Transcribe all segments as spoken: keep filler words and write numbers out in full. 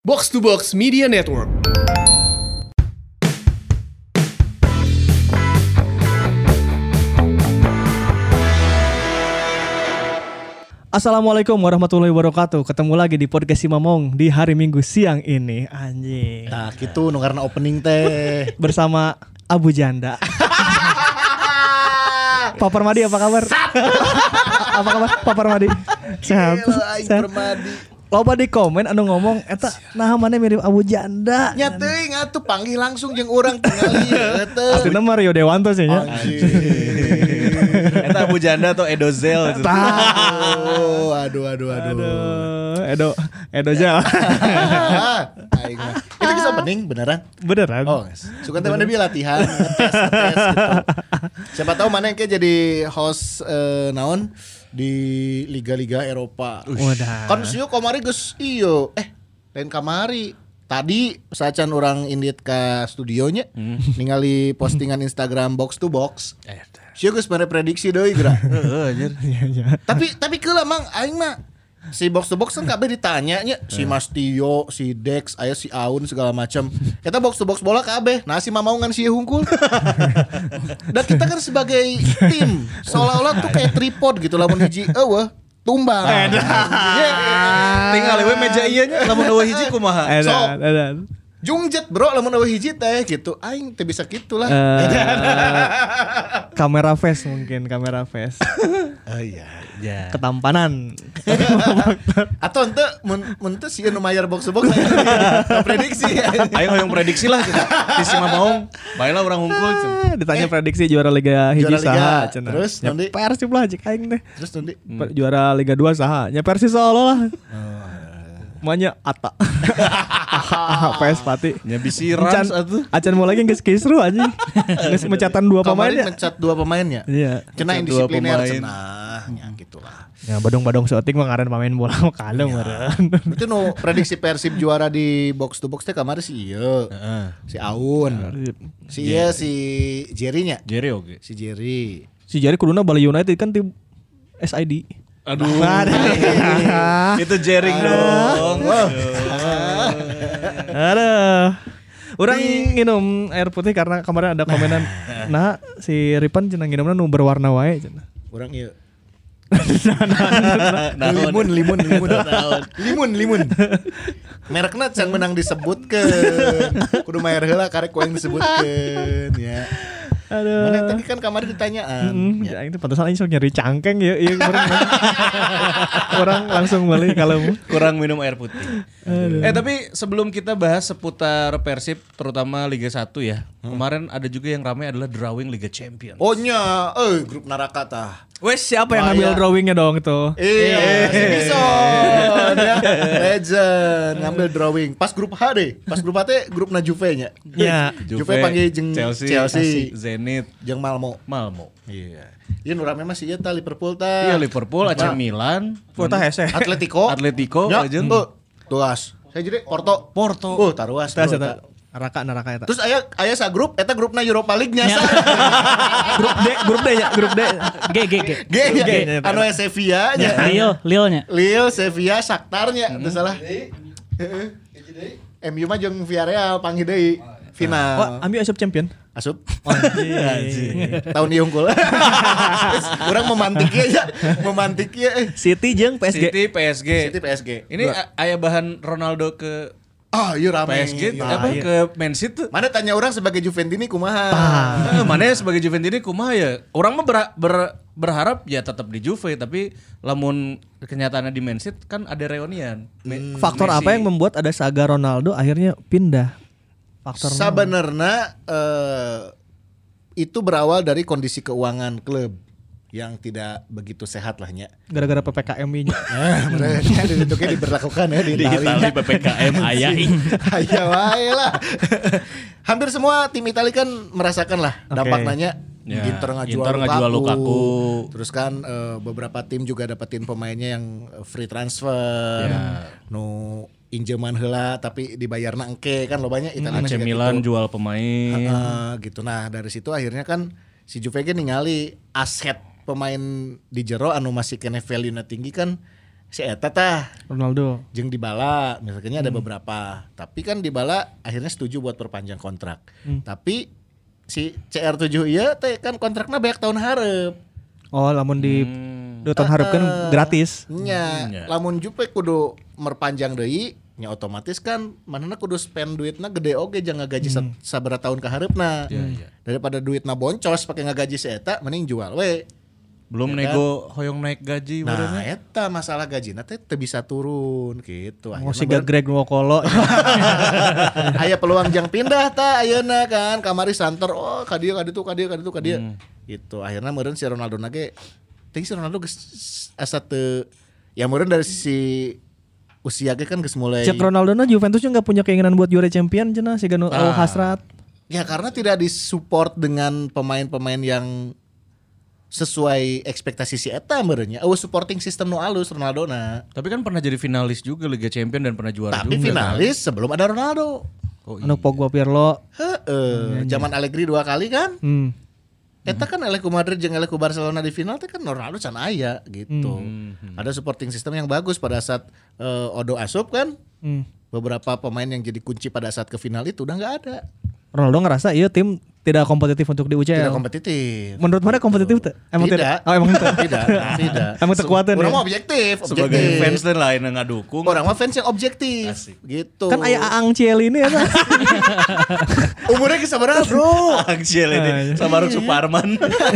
Box to Box Media Network. Assalamualaikum warahmatullahi wabarakatuh. Ketemu lagi di podcast Si Mamong di hari Minggu siang ini. Anjing. Nah gitu nu karena opening teh Bersama Abu Janda. Pak Permadi apa kabar? Apa kabar Pak Permadi? Sehat. Sehat. Loba di komen anu ngomong eta nah mana mirip Abu Janda. nya teuing atuh panggil langsung jeung urang tinggal ieu teh. Astina mah Rio Dewanto sih nya. Eta Abu Janda atau Edozel gitu. Aduh, aduh, aduh, aduh. Aduh, Edo Edo Jal. Aing mah. Itu kisah opening beneran? Beneran? Oh, suka teh mana bi latihan, ngetes, ngetes gitu. Siapa tahu mana yang kayak jadi host eh, naon di liga-liga Eropa. Wadah. Kan sieu kamari geus ieu. Eh, lain kamari. Tadi sacan orang indit ka studionya hmm. ningali postingan Instagram Box to Box. Sieu geus mere prediksi deui geura. Heeh anjir. Tapi tapi keula mang aing mah si Box to Box kan kabeh ditanya nya si Mas Tio, si Dex, aya si Aun segala macam. Eta Box to Box bola kabeh. Nah si Mamaungan si hungkul. Dan kita kan sebagai tim seolah-olah tuh kayak tripod gitu lamun hiji eueuh tumbang. Tinggal we meja ieu nya lamun eueuh hiji kumaha. Edan, edan. Jungjet bro lamun eueuh hiji teh gitu. Aing teh bisa kitulah. Uh, kamera face mungkin, kamera face. Oh iya. Ya. Ketampanan. Atau ente mun mun teh sieun nu mayar Box to Box prediksi. Ayo hoyong prediksi lah kita. Di Si Mamaung. Baiklah urang hungkul. Ditanya prediksi juara Liga hiji Juara Liga. saha cenah. Terus, Ya, nanti? Persib lah cik aing teh. Terus nanti Per- Juara Liga dua saha? Ya Persis Solo lah. Manya Ata. P S Pati. Nya bisi Rans atuh. Acan mau lagi geus kisru anjing. Geus mencatan dua pemain kemarin ya. mencat dua pemainnya. Iya. Cenah Mencat dua indisipliner pemain. cenah nya gitulah. Ya badung-badung seotik mah ngaran pemain bola mah kalem meureun. Itu nu prediksi Persib juara di Box to Box teh kamari si ieu. Si Aun. Si ieu si Jerry nya. Jerry oke. Si Jerry. Si Jari kuduna Bali United kan tim S I D. Aduh. Itu jering dong. Aduh. Orang minum air putih karena kemarin ada komenan. Nah, si Ripan cenah nginumna nu berwarna wae cenah. Urang ieu. Naon? Limun, limun, limun. Limun, limun. Merekna can menang disebutkeun. Kudu mayar heula karek ku yang disebutkeun ya. Aduh. Mana tadi kan kamari ditanyaan. Hmm, Ya. ya itu pantesan aing sok nyari cangkeng ya, iya orang, orang langsung balik kalau Kurang minum air putih. Eh tapi sebelum kita bahas seputar Persib terutama Liga satu ya. Kemarin ada juga yang ramai adalah drawing Liga Champions. Oh nya, eh grup neraka tah. wes siapa yang Maya. ngambil drawingnya dong itu? Iya, si Bison ya. Legend ngambil drawing. Pas grup H deh. Pas grup H teh grup na Juve nya. Iya. Juve panggil jeung Chelsea, Chelsea. Zenit, Jeung Malmo. Malmo. Iya. Ieu nu rame mah si ieu tah Liverpool tah. Iya Liverpool, A C Milan, Foto hese. Atletico. Atletico, Ya, aja. tuh. Tuas. Saya jadi Porto. Porto. Oh, taruas. Eta bro, eta eta. neraka neraka eta. Terus aya aya sa grup eta grupna Europa League nya sa. Grup D, grup D nya, grup D. G G G. G nya. G. Anu aya Sevilla nya. Lille, Lille nya. Lille, Sevilla, Shakhtar nya, teu salah. Heeh. M U mah jeung Villarreal panggil deui final. Wah, ambil asup champion. Asup. Anjing. Tahun ieu unggul. Urang memantik ieu ya, memantik ieu eh. City jeung P S G. City, P S G. City P S G. Ini a- aya bahan Ronaldo ke Ah, ieu rame. P S G Nah, apa iya. ke Man City tuh? Mana tanya orang sebagai Juventini kumaha? Eh, mana sebagai Juventini kumaha ya? Orang mah ber- ber- berharap ya tetap di Juve tapi lamun kenyataannya di Man City kan ada reunian. Me- Faktor Messi. apa yang membuat ada saga Ronaldo akhirnya pindah? Faktor Sebenarnya eh, itu berawal dari kondisi keuangan klub yang tidak begitu sehat lah nya. gara-gara P P K M I-nya. Nah, mereka dibentuknya diberlakukan ya di di Italia. Itali P P K M aya. Aya wae lah. Hampir semua tim Italia kan merasakan lah Oke. dampaknya. Ya, Inter ngajual Inter ngajual Lukaku. Terus kan eh, beberapa tim juga dapetin pemainnya yang eh, free transfer. Ya. Nu injeman heula tapi dibayarna engke kan lobanya Italia A C masih kayak Milan gitu. jual pemain. Heeh, gitu. Nah, dari situ akhirnya kan si Juve ge ningali aset pemain di jero anu masih kene value-na tinggi kan si eta tah Ronaldo. jeung Dybala misalnya ada beberapa. Tapi kan Dybala akhirnya setuju buat perpanjang kontrak. Hmm. Tapi si C R tujuh ieu teh kan kontrakna banyak tahun hareup. Oh, lamun di Hmm. dua tahun hareup kan gratis. Nya, nya. lamun Jupe kudu merpanjang deui, nya otomatis kan manehna kudu spend duitna gede oge jangan gaji Hmm. sa- sabaraha tahun ka hareupna. Iya, iya. Daripada duitna boncos pake ngagaji si eta mending jual we. Belum Ya nego hoyong naik gaji Nah, barunya. eta masalah gajina teh teu bisa turun gitu. Mau Akhirna si Greg Nwokolo. aya peluang jang pindah ta ayeuna kan kamari santer oh ka dieu ka ditu ka dieu ka ditu ka dieu Hmm. gitu akhirnya meureun si Ronaldo nage ting si Ronaldo geus asa teu ya meureun dari sisi usia ge kan geus mulai Cek Ronaldo na Juventus juga nggak punya keinginan buat juara champion cenah si Ganu Ah. hasrat. ya karena tidak disupport dengan pemain-pemain yang sesuai ekspektasi si eta meureun nya eueuh supporting system nu alus Ronaldo na Tapi kan pernah jadi finalis juga Liga Champion dan pernah juara tapi juga. finalis sebelum ada Ronaldo Oh, Anu Pogba Pirlo. heeh zaman Allegri dua kali kan Hmm. Eta kan eleh ku Madrid jeung eleh ku Barcelona di final teh kan Ronaldo can aya gitu. Ada supporting system yang bagus pada saat eh, Odo asup kan. Hmm. Beberapa pemain yang jadi kunci pada saat ke final itu udah nggak ada. Ronaldo ngerasa iya tim tidak kompetitif untuk di U C L. Tidak kompetitif. Menurut mana kompetitif tuh? Emang tidak? Tidak. Oh emang tidak. Tidak, tidak. Emang terkuatan Orang ya? mah objektif, sebagai objektif. fans dan lain yang ngadukung. Orang mah fans yang objektif. Asik. Gitu. Kan aya Aang Ciel ini ya. umurnya ke sabaraha, Bro? Angsiel ini sama Ruk Suparman.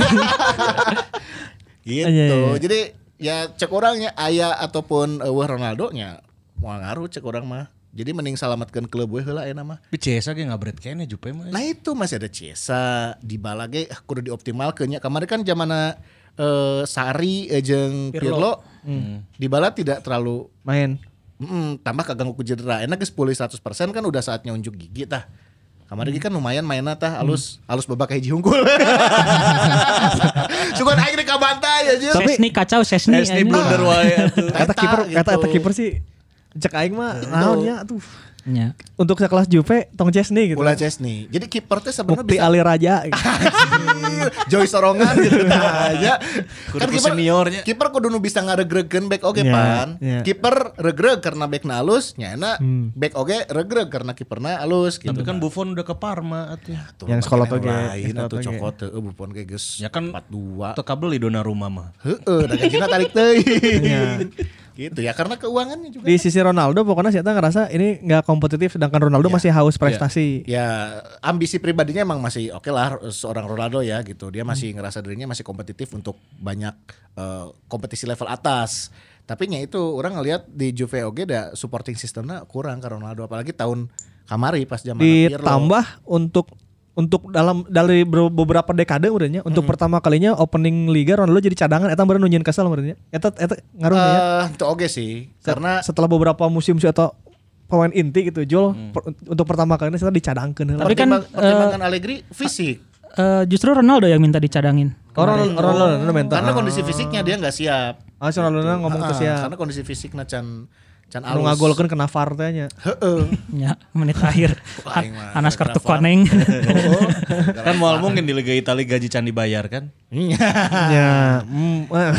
Gitu. Iya, iya. Jadi ya cek orangnya aya ataupun eueuh Ronaldo nya moal ngaruh cek orang mah. Jadi mending salamatkeun klub we heula aya mah. Tapi Cesa ge ngabret kene Jupe mah. Nah itu masih ada Ciesa, Dybala ge ah, kudu dioptimalkeun nya. Kemarin kan zamana eh, Sari eh, jeung Pirlo, Dybala tidak terlalu Main. mm, tambah kaganggu ku cedera. Enak geus pulih seratus persen kan udah saatnya unjuk gigi tah. Kemarin kan lumayan mainna tah alus alus babak hiji unggul. Sugan aing rek kabantai aja. Sesni kacau Sesni. Sesni anjing. blunder wae atuh. Kata Eta kiper, kata gitu. kata kiper sih cek aing mah naonnya tuh. Nya. Untuk sekelas Juve tong Chesney gitu. Ulah Chesney. Jadi kiper teh sebenarnya Mukti bisa Ali Raja. gitu. Joy Sorongan gitu aja. Kudu ku seniornya. Kiper kudu nu bisa ngaregregkeun back oge Ya, pan. ya. Kiper regreg karena backna alus, nyana Hmm. back oge regreg karena kiperna alus gitu. Tapi kan Buffon udah ke Parma atuh. Tuh, Yang makin sekolah yang oge, lain yang atuh sekolah oge. cokot teu Buffon ge geus Ya kan empat dua. Teu kabeli Donnarumma mah. Heeh, da gajina tarik teuing. Iya. Gitu ya karena keuangannya juga. Di sisi Ronaldo pokoknya saya ngerasa ini nggak kompetitif sedangkan Ronaldo Ya. masih haus prestasi. Ya ambisi pribadinya emang masih oke lah seorang Ronaldo ya gitu. Dia Hmm. masih ngerasa dirinya masih kompetitif untuk banyak eh, kompetisi level atas. Tapi nya itu orang ngelihat di Juve oge da supporting sistemnya kurang ke Ronaldo apalagi tahun kamari pas zaman Pirlo. Ditambah untuk untuk dalam dari ber- beberapa dekade urangnya untuk pertama kalinya opening liga Ronaldo jadi cadangan eta bener nunjieun kesel urangnya. Eta eta ngaruh ya. Eh, itu oge sih karena Setelah beberapa musim atau pemain inti gitu Jol per- untuk pertama kalinya saya dicadangkeun heula. Tapi kan, pertimbang- pertimbangan Allegri fisik. Eh, justru Ronaldo yang minta dicadangin. Oh, Ronaldo Ronaldo Ronaldo mental. Karena kondisi fisiknya dia nggak siap. Ah, si Ronaldo ngomong tuh Ah, sia. Karena kondisi fisiknya can can Anu alus. ngagolkeun kena V A R teh nya. Heeh. Ya, menit akhir. Wah, aing mah Anas kartu Rafa. kuning. Kan moal mungkin di Liga Italia gaji can dibayar kan. Ya, mm, eh.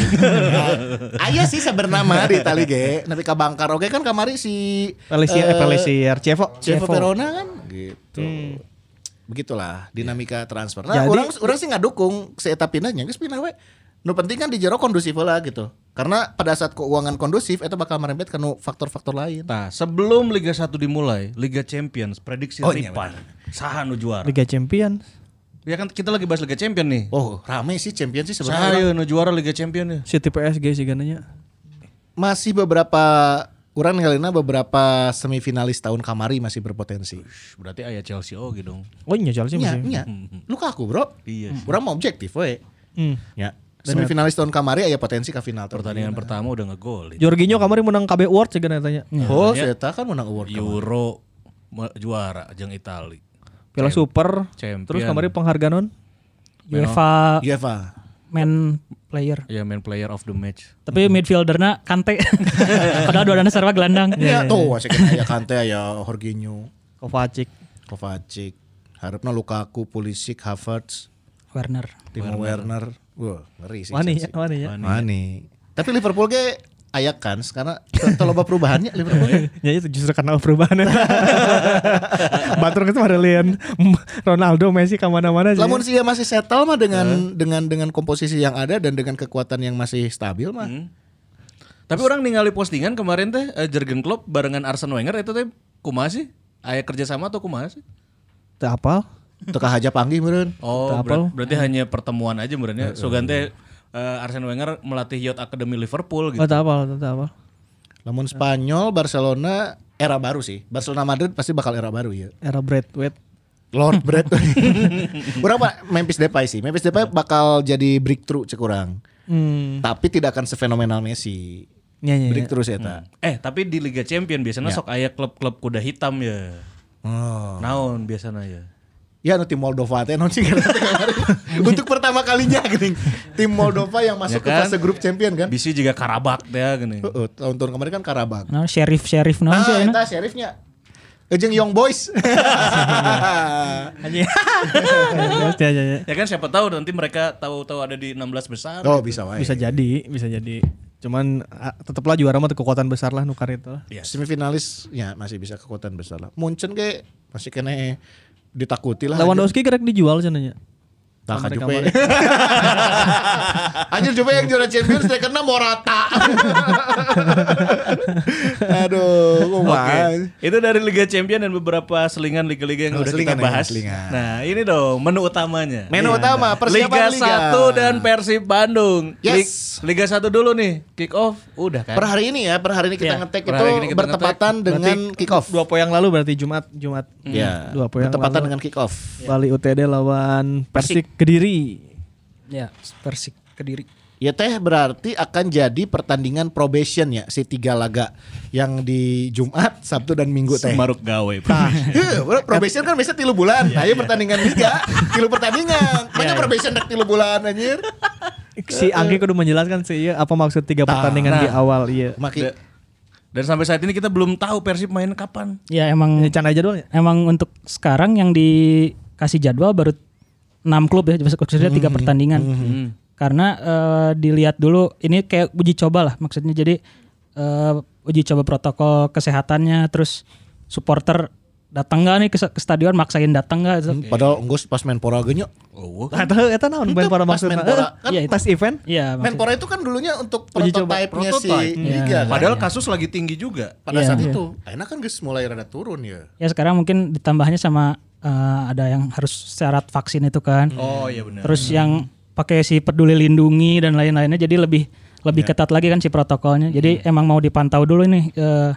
Aya sih sabernama di Itali ge, nepi ka Bangkar oge kan kamari si Pelisier, eh, Pelisier, Chievo, Chievo Verona kan gitu. Begitulah dinamika transfer. Nah, Jadi- orang orang sih ngadukung si eta pindahnya geus pindah we. Nu penting kan di jero kondusif lah gitu. Karena pada saat keuangan kondusif itu bakal merembet ke nu faktor-faktor lain. Nah, sebelum Liga satu dimulai, Liga Champions prediksi Oh, iya, Ripan. Saha nu juara? Liga Champions. Ya kan kita lagi bahas Liga Champion nih. Oh, rame sih champion sih Saha sebenarnya. ieu nu juara Liga Champion ya? City P S G sih gananya. Masih beberapa orang ngalina beberapa semifinalis tahun kamari masih berpotensi. Berarti aya Chelsea oge dong. Oh iya Chelsea Iya, masih. iya. Lukaku, Bro. Iya. Urang mau objektif we. Hmm. Ya. Semifinalis tahun kamari aya potensi ke final. Pertandingan pertama udah ngegol. Jorginho kemarin menang K B Award sih tanya. Oh, Ya. saya kan menang award. kemarin. Euro me- juara jeung Itali. Piala Super. Champion. Terus kemarin penghargaan non. UEFA UEFA. man player. Ya main player of the match. Tapi midfielderna Kante. Padahal dua dana sarwa gelandang. Ya, tuh masih kena aya Kante aya Jorginho, Kovacic. Kovacic. Harapna Lukaku, Pulisic, Havertz, Werner. Timo Werner. Wah, ngeri sih. Wani ya, Chelsea. wani ya. Wani. Tapi Liverpool ge aya kans karena teu loba perubahannya Liverpool. Ya itu justru karena perubahan. Batur itu ada lian Ronaldo, Messi kemana-mana. Lamun sih ya masih settle mah dengan uh. dengan dengan komposisi yang ada dan dengan kekuatan yang masih stabil mah. Hmm. Tapi orang ningali postingan kemarin teh uh, Jurgen Klopp barengan Arsene Wenger itu teh kumaha sih? Aya kerjasama atau kumaha sih? Teu apal. Teu kahaja panggih meureun. Oh, ber- berarti uh. hanya pertemuan aja meureunnya. Sogan teh Uh, Arsene Wenger melatih Youth Academy Liverpool gitu. Oh, tak apa, tak apa. Lamun Spanyol, Barcelona era baru sih. Barcelona Madrid pasti bakal era baru ya. Era Braithwaite. Lord Braithwaite. Urang Pak Memphis Depay sih. Memphis Depay bakal jadi breakthrough cek urang. Hmm. Tapi tidak akan sefenomenal Messi. Ya, ya, breakthrough sih eta. Hmm. Eh, tapi di Liga Champion biasanya ya. Sok aya klub-klub kuda hitam ya. Oh. Naon biasanya ya. Ya nu tim Moldova teh non sih untuk pertama kalinya geuning. Tim Moldova yang masuk ya kan? Ke fase grup champion kan. Bisi juga Karabakh teh geuning. Heeh, tahun-tahun kemarin kan Karabakh. Nah, sheriff-sheriff naon sih eta sheriffnya. Jeung Young Boys. Ya kan siapa tahu nanti mereka tahu-tahu ada di enam belas besar. Oh, bisa wae. Bisa jadi, bisa jadi. Cuman tetaplah juara mah kekuatan besar lah nukar itu. Yes. Semifinalis ya masih bisa kekuatan besar lah. Munchen ge masih kene ditakuti lah. Lewandowski kerek dijual cenanya. Tak Juve. Anjir Juve yang juara Champions strikerna Morata. Aduh, oke. Okay. Itu dari Liga Champion dan beberapa selingan liga-liga yang oh, udah kita bahas. Ya, nah, ini dong menu utamanya. Menu utama persiapan Liga satu dan Persib Bandung. Yes. Liga satu dulu nih, kick off udah kan. Per hari ini ya, per hari ini kita yeah. ngetek itu kita bertepatan ngetek. dengan kick off. Dua poin yang lalu berarti Jumat, Jumat. Iya. Hmm. Dua poin bertepatan dengan kick off. Bali U T D lawan Persik Kediri. Ya, Persik Kediri. Ya teh berarti akan jadi pertandingan probation ya si tiga laga yang di Jumat, Sabtu dan Minggu teh. Semaruk gawe. Nah, probation kan biasa tilu bulan. Nah, ya pertandingan liga, tilu pertandingan. Mana probation dak tilu bulan anjir. Si Anggi kudu menjelaskan sih iya apa maksud tiga pertandingan nah, di awal iya. Maki. Dan sampai saat ini kita belum tahu Persib main kapan. Ya emang ya, can jadwalnya. Emang untuk sekarang yang dikasih jadwal baru enam klub ya, maksudnya tiga pertandingan. Mm-hmm. Karena uh, dilihat dulu ini kayak uji coba lah maksudnya. Jadi uh, uji coba protokol kesehatannya, terus supporter datang nggak nih ke, ke stadion, maksain datang nggak? Okay. Padahal enggak pas Menpora geunya. Oh, eta eta naon Menpora maksudnya? Kan ya, pas event? Iya. Menpora itu kan dulunya untuk prototipe-nya si liga. Ya. Padahal kasus lagi tinggi juga pada ya, saat ya. itu. Enak kan guys mulai rada turun ya. Ya sekarang mungkin ditambahnya sama uh, ada yang harus syarat vaksin itu kan. Oh iya benar. Terus hmm. yang pakai si peduli lindungi dan lain-lainnya, jadi lebih lebih ya. ketat lagi kan si protokolnya. Jadi hmm. emang mau dipantau dulu nih uh,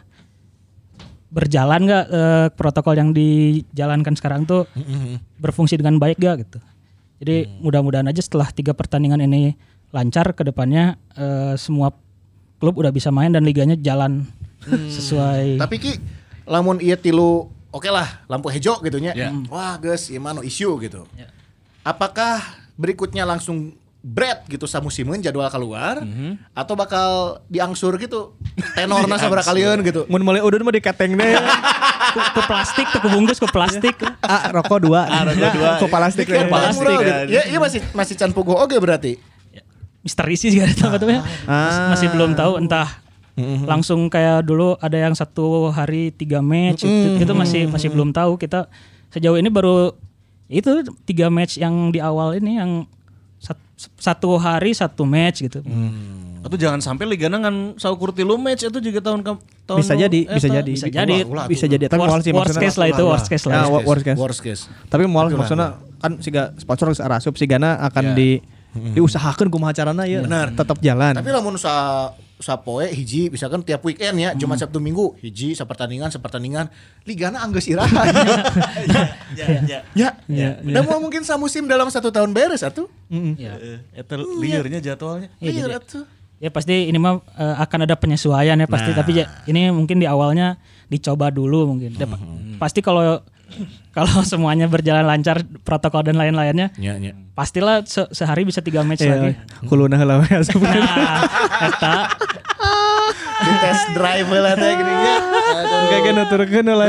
berjalan nggak uh, protokol yang dijalankan sekarang tuh hmm. berfungsi dengan baik gak gitu. Jadi hmm. mudah-mudahan aja setelah tiga pertandingan ini lancar, ke depannya uh, semua klub udah bisa main dan liganya jalan hmm. sesuai. Tapi Ki, lamun ieu tilu oke okay lah lampu hijau gitu nya. Yeah. Wah geus ieu mah no issue gitu. Yeah. Apakah berikutnya langsung bread gitu samusimeun jadwal keluar mm-hmm. atau bakal diangsur gitu tenorna sabaraha kalian gitu. Mun mulai udun mah dikateng deh. Ke, ke plastik, ke bungkus ke plastik. Ah, rokok dua. Ah, rokok dua. Ke plastik. Ke plastik. Ya, iya masih masih can puguh oge berarti. Ya, misteri sih enggak tahu katanya. Ah. Masih belum tahu entah mm-hmm. langsung kayak dulu ada yang satu hari tiga match mm-hmm. itu, itu masih masih belum tahu. Kita sejauh ini baru itu tiga match yang di awal ini yang satu hari satu match gitu. Hmm. Atau jangan sampai ligana ngan saukur tilu match itu juga tahun ke tahun bisa jadi, eh, bisa jadi, bisa jadi, ulah, ulah, bisa jadi. Tapi worst, sih worst case lah itu, worst case lah. Nah, worst case. Worst case. Tapi moal maksudnya kan siga sponsor geus arasup sigana akan yeah. di hmm. diusahakeun kumaha carana ya tetap jalan. Tapi lamun sa sapoe hiji misalkan tiap weekend ya, Jumat Sabtu Minggu hiji sapertandingan sapertandingan ligana anggeus iraha. Ya ya ya. Ya. Dan mau mungkin samusim dalam satu tahun beres atuh. Heeh. Ya. Eta liurnya jadwalnya. Liur atuh. Ya pasti ini mah uh, akan ada penyesuaian ya pasti, nah. Tapi ya, ini mungkin di awalnya dicoba dulu mungkin. Mm-hmm. Pasti kalau kalau semuanya berjalan lancar protokol dan lain-lainnya, ya, ya. pastilah se- sehari bisa tiga match ya, lagi. Kuluna heula we asup. Nah, eta di test drive lah teh geunya. Aduh, engke nuturkeun lah.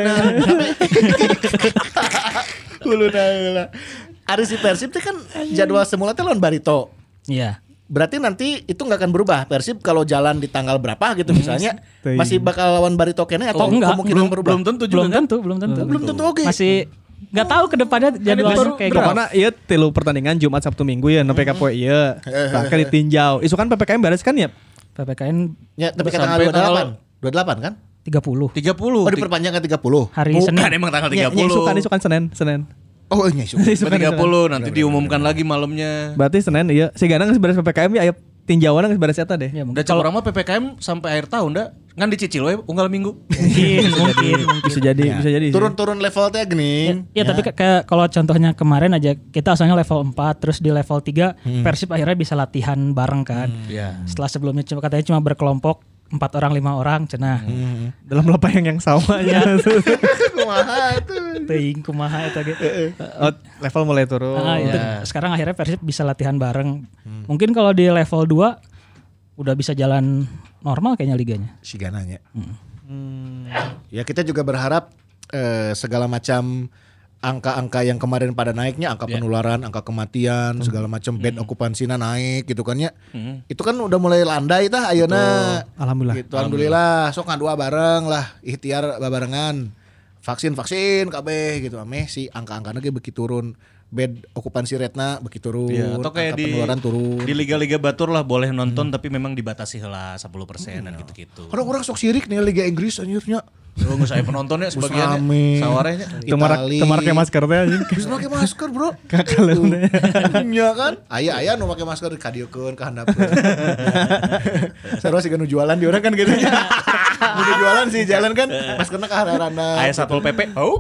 Kuluna heula. Ari si Persib teh kan jadwal semula teh lawan Barito. Iya. berarti nanti itu nggak akan berubah. Persib kalau jalan di tanggal berapa gitu misalnya Teuing. masih bakal lawan Barito Kene atau Oh, enggak. kemungkinan belum berubah. belum tentu juga Belum kan? tentu, belum tentu. Belum tentu oke. Masih nggak tahu ke depannya jadwalnya Baru kayak pokoknya iya tilu pertandingan Jumat Sabtu Minggu ya nepi ka poe ieu. Tah kan ditinjau. Isu kan P P K M beres kan ya? P P K N Ya, tapi kan Sampai tanggal dua puluh delapan. tanggal- dua puluh delapan kan? tiga puluh tiga puluh. Oh, diperpanjang ke tiga puluh. hari Senin. Bukan emang tanggal Nya- tiga nya puluh. Isukan isukan Senin, Senin. Oh, iya, isu. Isukan tiga isukan. puluh nanti diumumkan lagi malamnya. Berarti Senin iya. Si Ganang geus beres P P K M ya aya tinjauan geus beres eta deh. Ya, Udah mungkin cek orang mah P P K M sampai akhir tahun dah. Ngan dicicil we unggal minggu. mungkin, mungkin, mungkin. Bisa jadi, bisa jadi. sih. Turun-turun level teh geuning. Ya, tapi kayak kayak kalau contohnya kemarin aja kita asalnya level empat terus di level tiga Persib akhirnya bisa latihan bareng kan. Iya. Setelah sebelumnya cuma katanya cuma berkelompok empat orang lima orang cenah. Dalam lapang yang sama ya. Kumaha tuh. Teuing kumaha eta ge. Oh, level mulai turun. Ah, itu sekarang akhirnya Persib bisa latihan bareng. Mungkin kalau di level dua udah bisa jalan normal kayaknya liganya. Si Gananya. Ya kita juga berharap eh, segala macam angka-angka yang kemarin pada naiknya, angka penularan, angka kematian, segala macam bed okupansinya naik gitu kan ya. Itu kan udah mulai landai tah ayeuna. Alhamdulillah. Gitu, alhamdulillah. Sok ngadua bareng lah, ikhtiar babarengan. Vaksin-vaksin kabeh gitu ameh si angka-angkana ge beki turun. Bed okupansi rate-na beki turun. Iya, atau kayak angka di penularan turun. di liga-liga batur lah boleh nonton tapi memang dibatasi heula sepuluh persen dan gitu-gitu. Orang-orang sok sirik nih Liga Inggris anjirnya. Lu nggak saya penontonnya sebagian rame. sawarenya. Temarak Itali. temarak pakai masker teh anjing. Bisa pakai masker, Bro. Kakaleunnya. Iya kan? Aya-aya nu make masker kadiekeun ka handapkeun. Sarua sih nu jualan di orang kan gitu nya. Udah jualan sih jalan kan maskerna ka hararana. Aya Satpol P P. Oh.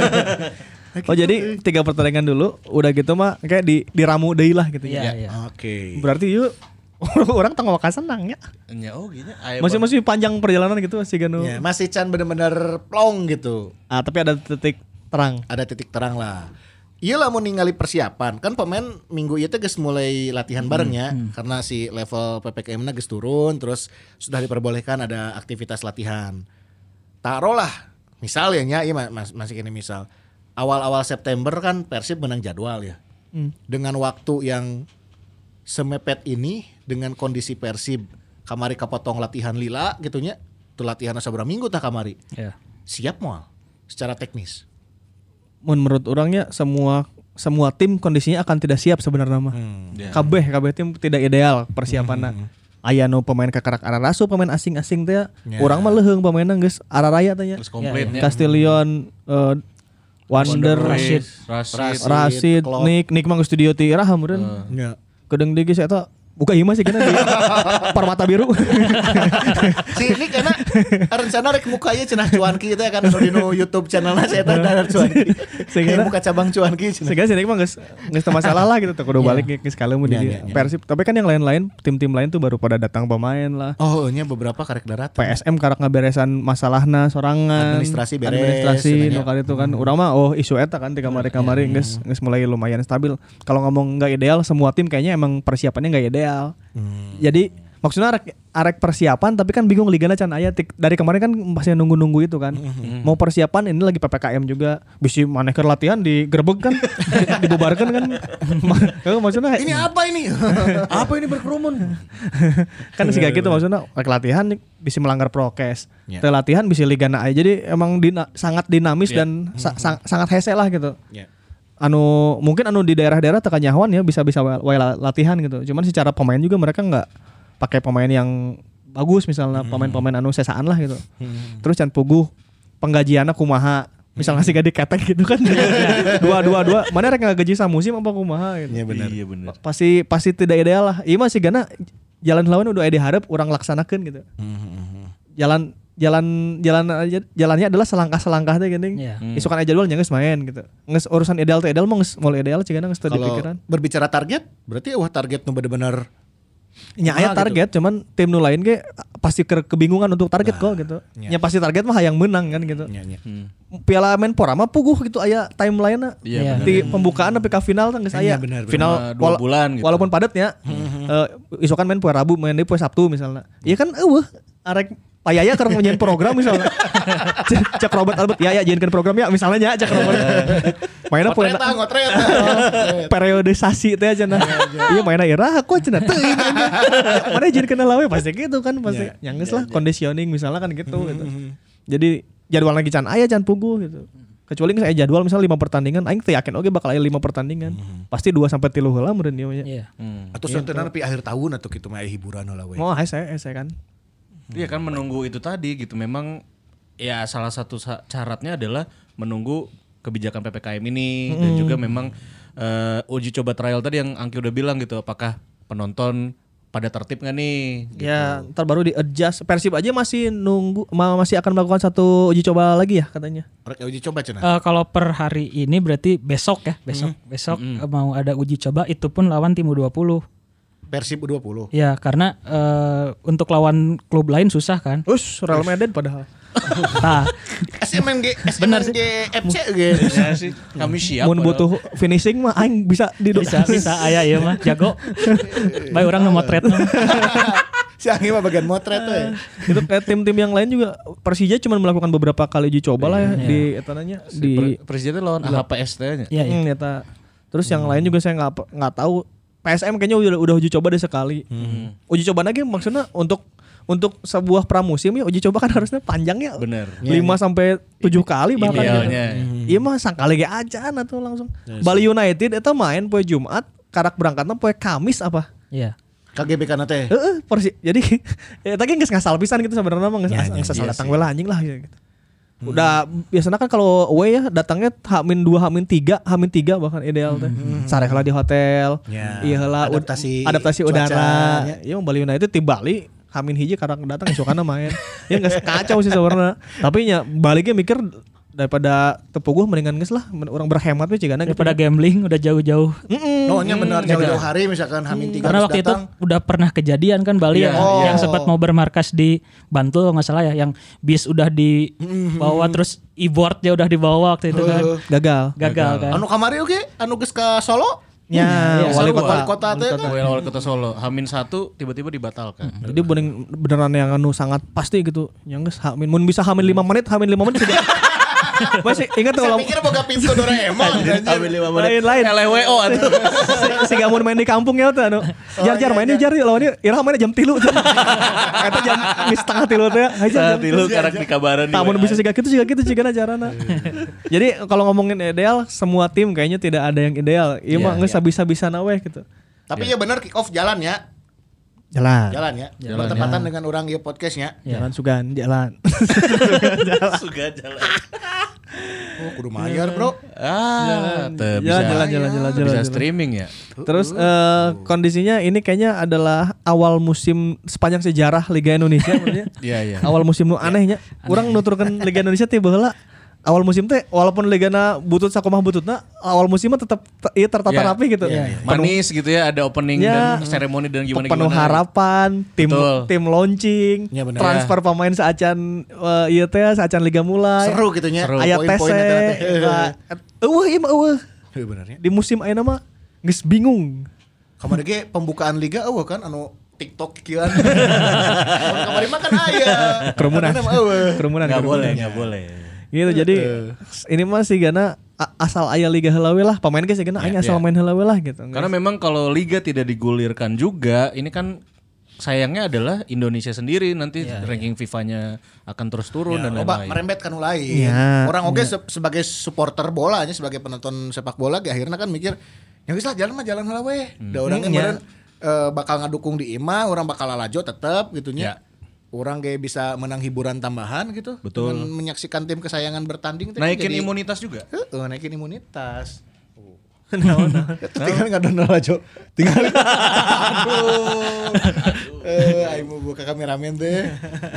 Oh jadi tiga pertandingan dulu udah gitu mah kayak di diramu deui lah gitu Iya, ya. iya. Oke. Berarti yuk orang tanggal wakan senang ya. Nya oh gini. Aya Masih masih panjang perjalanan gitu masih ganu. Ya, masih can bener-bener plong gitu. Ah tapi ada titik terang. Ada titik terang lah. Iya lah mau ningali persiapan kan pemain minggu itu guys mulai latihan barengnya karena si level P P K M-nya geus turun terus sudah diperbolehkan ada aktivitas latihan. Taruhlah misal ya nya iya mas, masih ini misal awal-awal September kan Persib menang jadwal ya. Hmm. Dengan waktu yang semepet ini dengan kondisi Persib kamari kapotong latihan lila gitunya. Tuh latihan saberapa minggu tah kamari. Ya. Siap moal secara teknis. Menurut orangnya semua semua tim kondisinya akan tidak siap sebenarnya mah. Ya. Kabeh kabeh tim tidak ideal persiapanna. Aya nu pemain kakarak ararasu pemain asing-asing teh. Ya. Urang mah leuheung pemainna geus araraya teh nya. Terus komplainnya. Castillion eh, Wonder, Rashid, Rashid. Rashid. Rasid, Klopp. Nick, Nick mah geus studio ti Iraham meureun. Ya. Kedeng deui geus eta buka ieu mah sih kena di Permata Biru. Si ini karena rencana rek muka ieu cenah cuanki teh kan anu di nu YouTube channelna saya teh ada cuanki. Sehingga- Kayak muka cabang cuanki cenah. Sehingga sini mah geus geus teu masalah lah gitu tuh kudu balik geus kalemu di Ya, dieu. ya, ya. Persib. Tapi kan yang lain-lain tim-tim lain tuh baru pada datang pemain lah. Oh, nya beberapa karek darat. P S M karak ngaberesan masalahna sorangan. Administrasi beres, Administrasi cenanya. nu kali itu kan. Urang mah oh isu eta kan di kamari-kamari geus geus mulai lumayan stabil. Kalau ngomong enggak ideal semua tim kayaknya emang persiapannya enggak ideal. Jadi maksudnya arek, arek persiapan tapi kan bingung ligana can aya tik- dari kemarin kan masih nunggu-nunggu itu kan. Mau persiapan ini lagi P P K M juga. Bisi maneh keur latihan digerebek kan. Dibubarkan kan. Ma- maksudnya Ini apa ini? Apa ini berkerumun? kan sih kayak gitu maksudnya rek latihan bisa melanggar prokes. Ya. Teu latihan bisa ligana aja. Jadi emang dina- sangat dinamis Ya. dan sa- sang- sangat hese lah gitu. Ya. Anu mungkin anu di daerah-daerah tekan nyahuan ya bisa-bisa wae wae latihan gitu. Cuman secara pemain juga mereka nggak pakai pemain yang bagus misalnya pemain-pemain anu sesaan lah gitu. Terus can puguh penggajianna kumaha. Misalnya sih gak diketek gitu kan. dua dua dua mana rek ngagaji samusim apa kumaha gitu. Iya benar. Iya benar. Pasti pasti tidak ideal lah. Iya masih gana jalan lawan udah ide harap orang laksanakan gitu. Jalan jalan jalan aja jalannya adalah selangkah-selangkah teh geuning. Iya. Isukan aja jadwal geus main gitu. Geus urusan ideal teh ideal mah geus mulai ideal cigana geus teu Kalau dipikiran. berbicara target, berarti wah target nu bener-bener Nya aya Kumaha target cuman tim nu lain ge pasti ke- kebingungan untuk target kok gitu. iya. Nya pasti target mah hayang menang kan gitu. nya nya. Piala Menpora mah puguh gitu aya timeline-na. Iya, Di pembukaan sampai ke final kan geus aya. Iya, benar, benar. Final Cuma dua bulan gitu. Walaupun padat ya. Eh isokan main poe Rabu, main deui poe Sabtu misalnya. Iya kan eueuh arek payaya keur nyanyiin program misalnya. Cek Robert Albert ya ya jadikan program ya misalnya nya cek Robert. Mainnya poe Ngotret ah, ngotret. periodisasi teh aja nah. Iya mainnya irah aku cenah teuing aja. Mana jadi kenal we pasti gitu kan pasti. Nyanggeus lah conditioning misalnya kan gitu gitu. Jadi jadwal lagi can aya can puguh gitu. Kecuali saya jadwal misalnya lima pertandingan aing teu yakin oge bakal aya lima pertandingan. Pasti dua sampai tiga heula meureun ieu nya. Iya. Atau sontenan tapi akhir tahun atau kitu mah aya hiburan heula we. Oh, saya saya kan. Iya kan menunggu itu tadi gitu. Memang ya salah satu sa- syaratnya adalah menunggu kebijakan P P K M ini dan juga memang uh, uji coba trial tadi yang Angki udah bilang gitu. Apakah penonton pada tertib nggak nih? Gitu. Ya, ntar baru di adjust. Persib aja masih nunggu ma- masih akan melakukan satu uji coba lagi ya katanya. Rek uji coba cenah. Eh, kalau per hari ini berarti besok ya, besok besok eh, mau ada uji coba itu pun lawan tim U dua puluh. Persib U dua puluh. Ya, karena eh, untuk lawan klub lain susah kan. Us, Real Madrid padahal. Nah, S M N G S M N G Benar sih. F C ge. Ya sih, kami siap. Mun padahal. butuh finishing mah aing bisa di bisa bisa aya ieu mah jago. Bae urang nu motret mah. Si Anggi mah bagian motret we. Itu kayak tim-tim yang lain juga Persija cuma melakukan beberapa kali uji coba lah ya di etananya di Pre- Presiden lawan A H P S T-nya. Iya, iya. Hmm, eta. Terus yang lain juga saya nggak nggak tahu. P S M kayaknya udah udah uji coba deh sekali. Uji coba lagi maksudnya untuk untuk sebuah pramusim ya uji coba kan harusnya panjang ya. Bener. lima sampai tujuh kali bahkan gitu. Idealnya. Iya mah sangkali ge acan atau langsung. Bali United eta main poe Jumat, karak berangkatna poe Kamis apa? Iya. K G B kana teh. Heeh, Persi. Jadi ya tadi geus ngasal pisan gitu sebenarnya mah geus Ya, ya, ngasal iya datang sih. we lah anjing lah gitu. Udah biasanya kan kalau away ya datangnya H-min dua, H-min tiga, H-min tiga bahkan ideal teh. Sare heula di hotel. Ya, Iya heula ud- adaptasi adaptasi cuaca, udara. ya. Iya Bali United di Bali H-min hiji karang datang esokana main. Ya enggak kacau sih sebenarnya. Tapi nya baliknya mikir daripada tepuguh mendingan geus lah orang berhemat we cigana gitu. Daripada gambling udah jauh-jauh. No nya benar jauh-jauh hari misalkan Hamin tiga Karena harus waktu datang. itu udah pernah kejadian kan Bali Iya, yang, iya. yang sempat mau bermarkas di Bantul nggak salah ya, yang bis udah dibawa terus e-boardnya udah dibawa waktu itu kan. Gagal. Gagal kan. Anu kamari oke, anu geus ka Solo. Ya, Iya, wali Solo, kota. wali kota teh kan. Wali wali kota Solo. Hamin satu tiba-tiba dibatalkan. Jadi bener, beneran yang anu sangat pasti gitu. Yang geus H-min mun bisa H-min lima menit, H-min lima menit sudah. Masih ingat tuh Saya kalau pikir boga pintu Doraemon anjir. lain-lain. L W O atuh. si, si gamun main di kampung ya tuh anu. Jar jar mainnya jar lawannya Irah mainnya jam tilu. Eta jam di setengah tilu teh. Aja jam Tilu karak dikabaran. Tamun bisa siga kitu siga kitu cigana carana. Jadi kalau ngomongin ideal semua tim kayaknya tidak ada yang ideal. Ieu mah geus bisa-bisa we gitu. Tapi ya benar kick off jalan ya. Jalan. Jalan ya. Bertepatan dengan orang ieu podcastnya. Jalan sugan, jalan. Suga jalan. Oh, kudu mayar, Bro. Ah, teu Jalan, bisa. jalan, jalan, jalan, Bisa jalan. streaming ya. Terus eh, kondisinya ini kayaknya adalah awal musim sepanjang sejarah Liga Indonesia maksudnya. Iya, iya. Awal musim nu anehnya. Urang nuturkeun Liga Indonesia teh baheula awal musim teh walaupun ligana butut sakumaha bututna awal musim mah tetap te- ieu tertata Ya, rapi gitu. ya, ya. Manis gitu ya, ada opening Ya. dan seremoni dan gimana Penuh gimana. harapan, tim Betul. tim launching, Ya, bener. transfer pemain saacan uh, ieu teh saacan liga mulai. Seru gitu nya. Aya Poin-poin tese. eta teh. Eueuh ieu mah eueuh. Heuh bener ya. Di musim ayeuna mah geus bingung. Kamari ge pembukaan liga eueuh kan anu TikTok kieuan. Kamari mah kan aya. Kerumunan. Anu mah eueuh. Kerumunan. Enggak kerumunan. boleh, enggak boleh. Gitu jadi ini mah sih gana a- asal aya liga heula we lah pemain ge gana aing asal ya. main heula we lah gitu. Karena memang kalau liga tidak digulirkan juga, ini kan sayangnya adalah Indonesia sendiri nanti ranking FIFA-nya akan terus turun dan Loba lain-lain. merembet kan lain. Ya, Orang oge se- sebagai supporter bola nya sebagai penonton sepak bola ge akhirnya kan mikir ya geus lah jalan mah jalan heula we. Da urang ge Hmm, ya. meureun eh, bakal ngadukung di imah, orang bakal lalajo tetep gitu Ya. nya. Orang kayak bisa menang hiburan tambahan gitu. Betul. Dengan menyaksikan tim kesayangan bertanding. teh Naikin jadi- imunitas juga. Heeh, naikin imunitas. Tinggal nggak donor aja. Tinggal. Aduh. Eh, aing mau buka kameramen teh.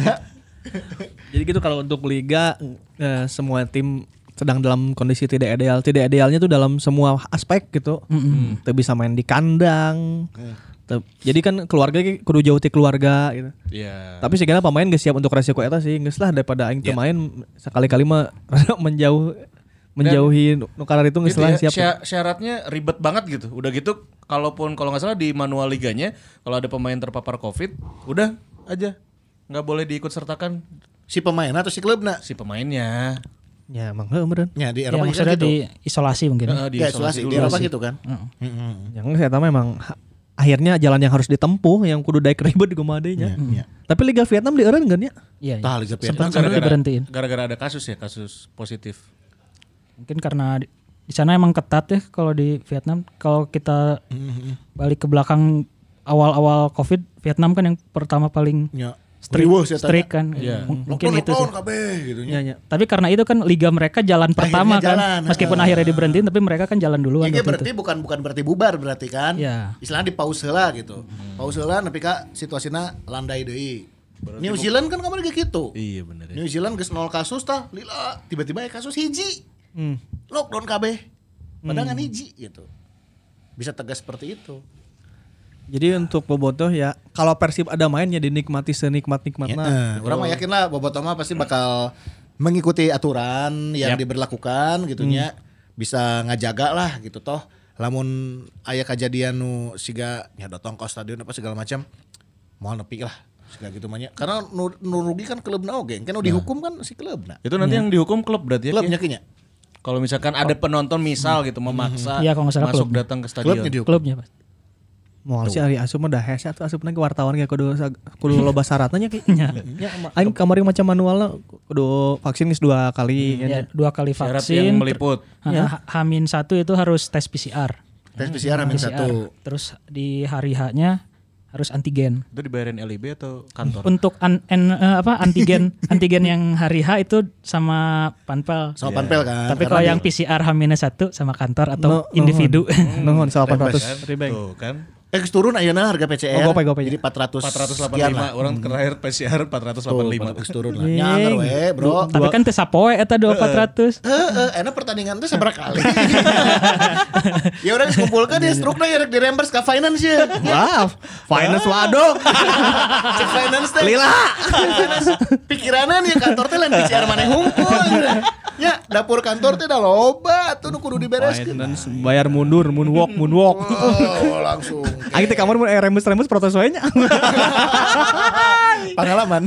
Jadi gitu kalau untuk liga eh, semua tim sedang dalam kondisi tidak ideal. Tidak idealnya tuh dalam semua aspek gitu. Teu bisa main di kandang. Teu- Jadi kan keluarga ge kudu jauh ti keluarga gitu. Iya. Tapi segala pemain geus siap untuk resiko eta sih. Geus lah daripada aing teu main sekali-kali mah menjauh menjauhi nu kalar itu geus Gitu lah ya, siap. sya- syaratnya ribet banget gitu. Udah gitu, kalaupun kalau nggak salah di manual liganya, kalau ada pemain terpapar COVID, udah aja nggak boleh diikut sertakan Si pemain atau si klubna? si pemainnya. Ya emang heuh meureun. Ya di Ya Eropa maksudnya gitu. di isolasi mungkin. Heeh, Ya, isolasi di Eropa gitu kan. Heeh. Yang saya tahu memang ha- akhirnya jalan yang harus ditempuh yang kudu daek ribet di kumadenya. Iya. Tapi Liga Vietnam di eureun kan ya? Iya. Tah, iya. Liga Sempat Vietnam sempat Gara-gara- diberhentiin. Gara-gara ada kasus ya, kasus positif. Mungkin karena di, di sana emang ketat ya kalau di Vietnam. Kalau kita balik ke belakang awal-awal Covid, Vietnam kan yang pertama paling Ya. strict, Riweuh sih, strict tanya. kan. Iya. M- Mungkin Lockdown, itu sih. lockdown kabeh gitu nya. Iya, iya. Tapi karena itu kan liga mereka jalan pertama kan. jalan, Meskipun heeh. akhirnya diberhentiin tapi mereka kan jalan duluan Ini waktu berarti itu. bukan bukan berarti bubar berarti kan? Iya. Istilahnya di pause heula gitu. Pause heula nepi ka situasina landai deui. New Zealand kan kemarin kayak gitu. Iya bener ya. New Zealand geus nol kasus tah, lila tiba-tiba ya kasus hiji. Hmm. Lockdown kabeh. Padahal kan hiji gitu. Bisa tegas seperti itu. Jadi untuk Bobotoh ya kalau Persib ada main ya dinikmati senikmat-nikmatna. Nah, orang mah yakin lah Bobotoh mah pasti bakal mengikuti aturan yang Yap. diberlakukan gitunya. Bisa ngajaga lah gitu toh. Lamun aya kejadian nu siga nya datang ke stadion apa segala macam moal nepi lah. Siga gitu mah nya. Karena nu, nu rugi kan klubna oge. Kan nu dihukum kan si klubna. Itu nanti yang dihukum klub berarti ya. Klubnya Ki? kinya. Kalau misalkan ada penonton misal gitu memaksa Iya, kalau nggak salah masuk klubnya. datang ke Klubnya stadion. dihukum. Klubnya Pak. Moal si Ari Asup mah dah hese atuh asupna ke wartawan ge kudu sa- kudu loba syaratna nya ki. Ya, ma- aing kamari macam manualna kudu vaksin geus dua kali Ya, ya. dua kali Syarat vaksin. yang meliput. ter- ha- Hamin satu itu harus tes P C R. Tes P C R amin P C R. satu. Terus di hari H-nya harus antigen. Itu dibayarin L I B atau kantor? Untuk an, en- eh, apa antigen antigen yang hari H itu sama panpel. Sama panpel kan. Tapi Karena kalau di- yang P C R H minus satu sama kantor atau No- individu. Nuhun delapan ratus Kan? ribu. Tuh kan. Eh geus turun ayeuna harga P C R. Oh, gopay, gopay. Jadi empat ratus empat ratus delapan sekian puluh lima lah. orang terakhir P C R empat ratus delapan puluh lima. Tuh, geus turun lah. Nyanger we, Bro. Tapi kan teu sapoe eta dua empat ratus. Heeh, enak pertandingan itu seberapa kali. Ya udah kumpulkan ya struknya ya rek dirembers ke finance ya. Wah, finance waduh. Cek finance teh. Lila. Finance pikiranan ya kantor teh lain P C R maneh hungkul. Ya, dapur kantor teh dah loba tuh nu kudu dibereskeun. Finance bayar mundur, moonwalk, moonwalk. Oh, langsung. Aing teh kamar mun aya rembes-rembes protes wae nya. Pengalaman.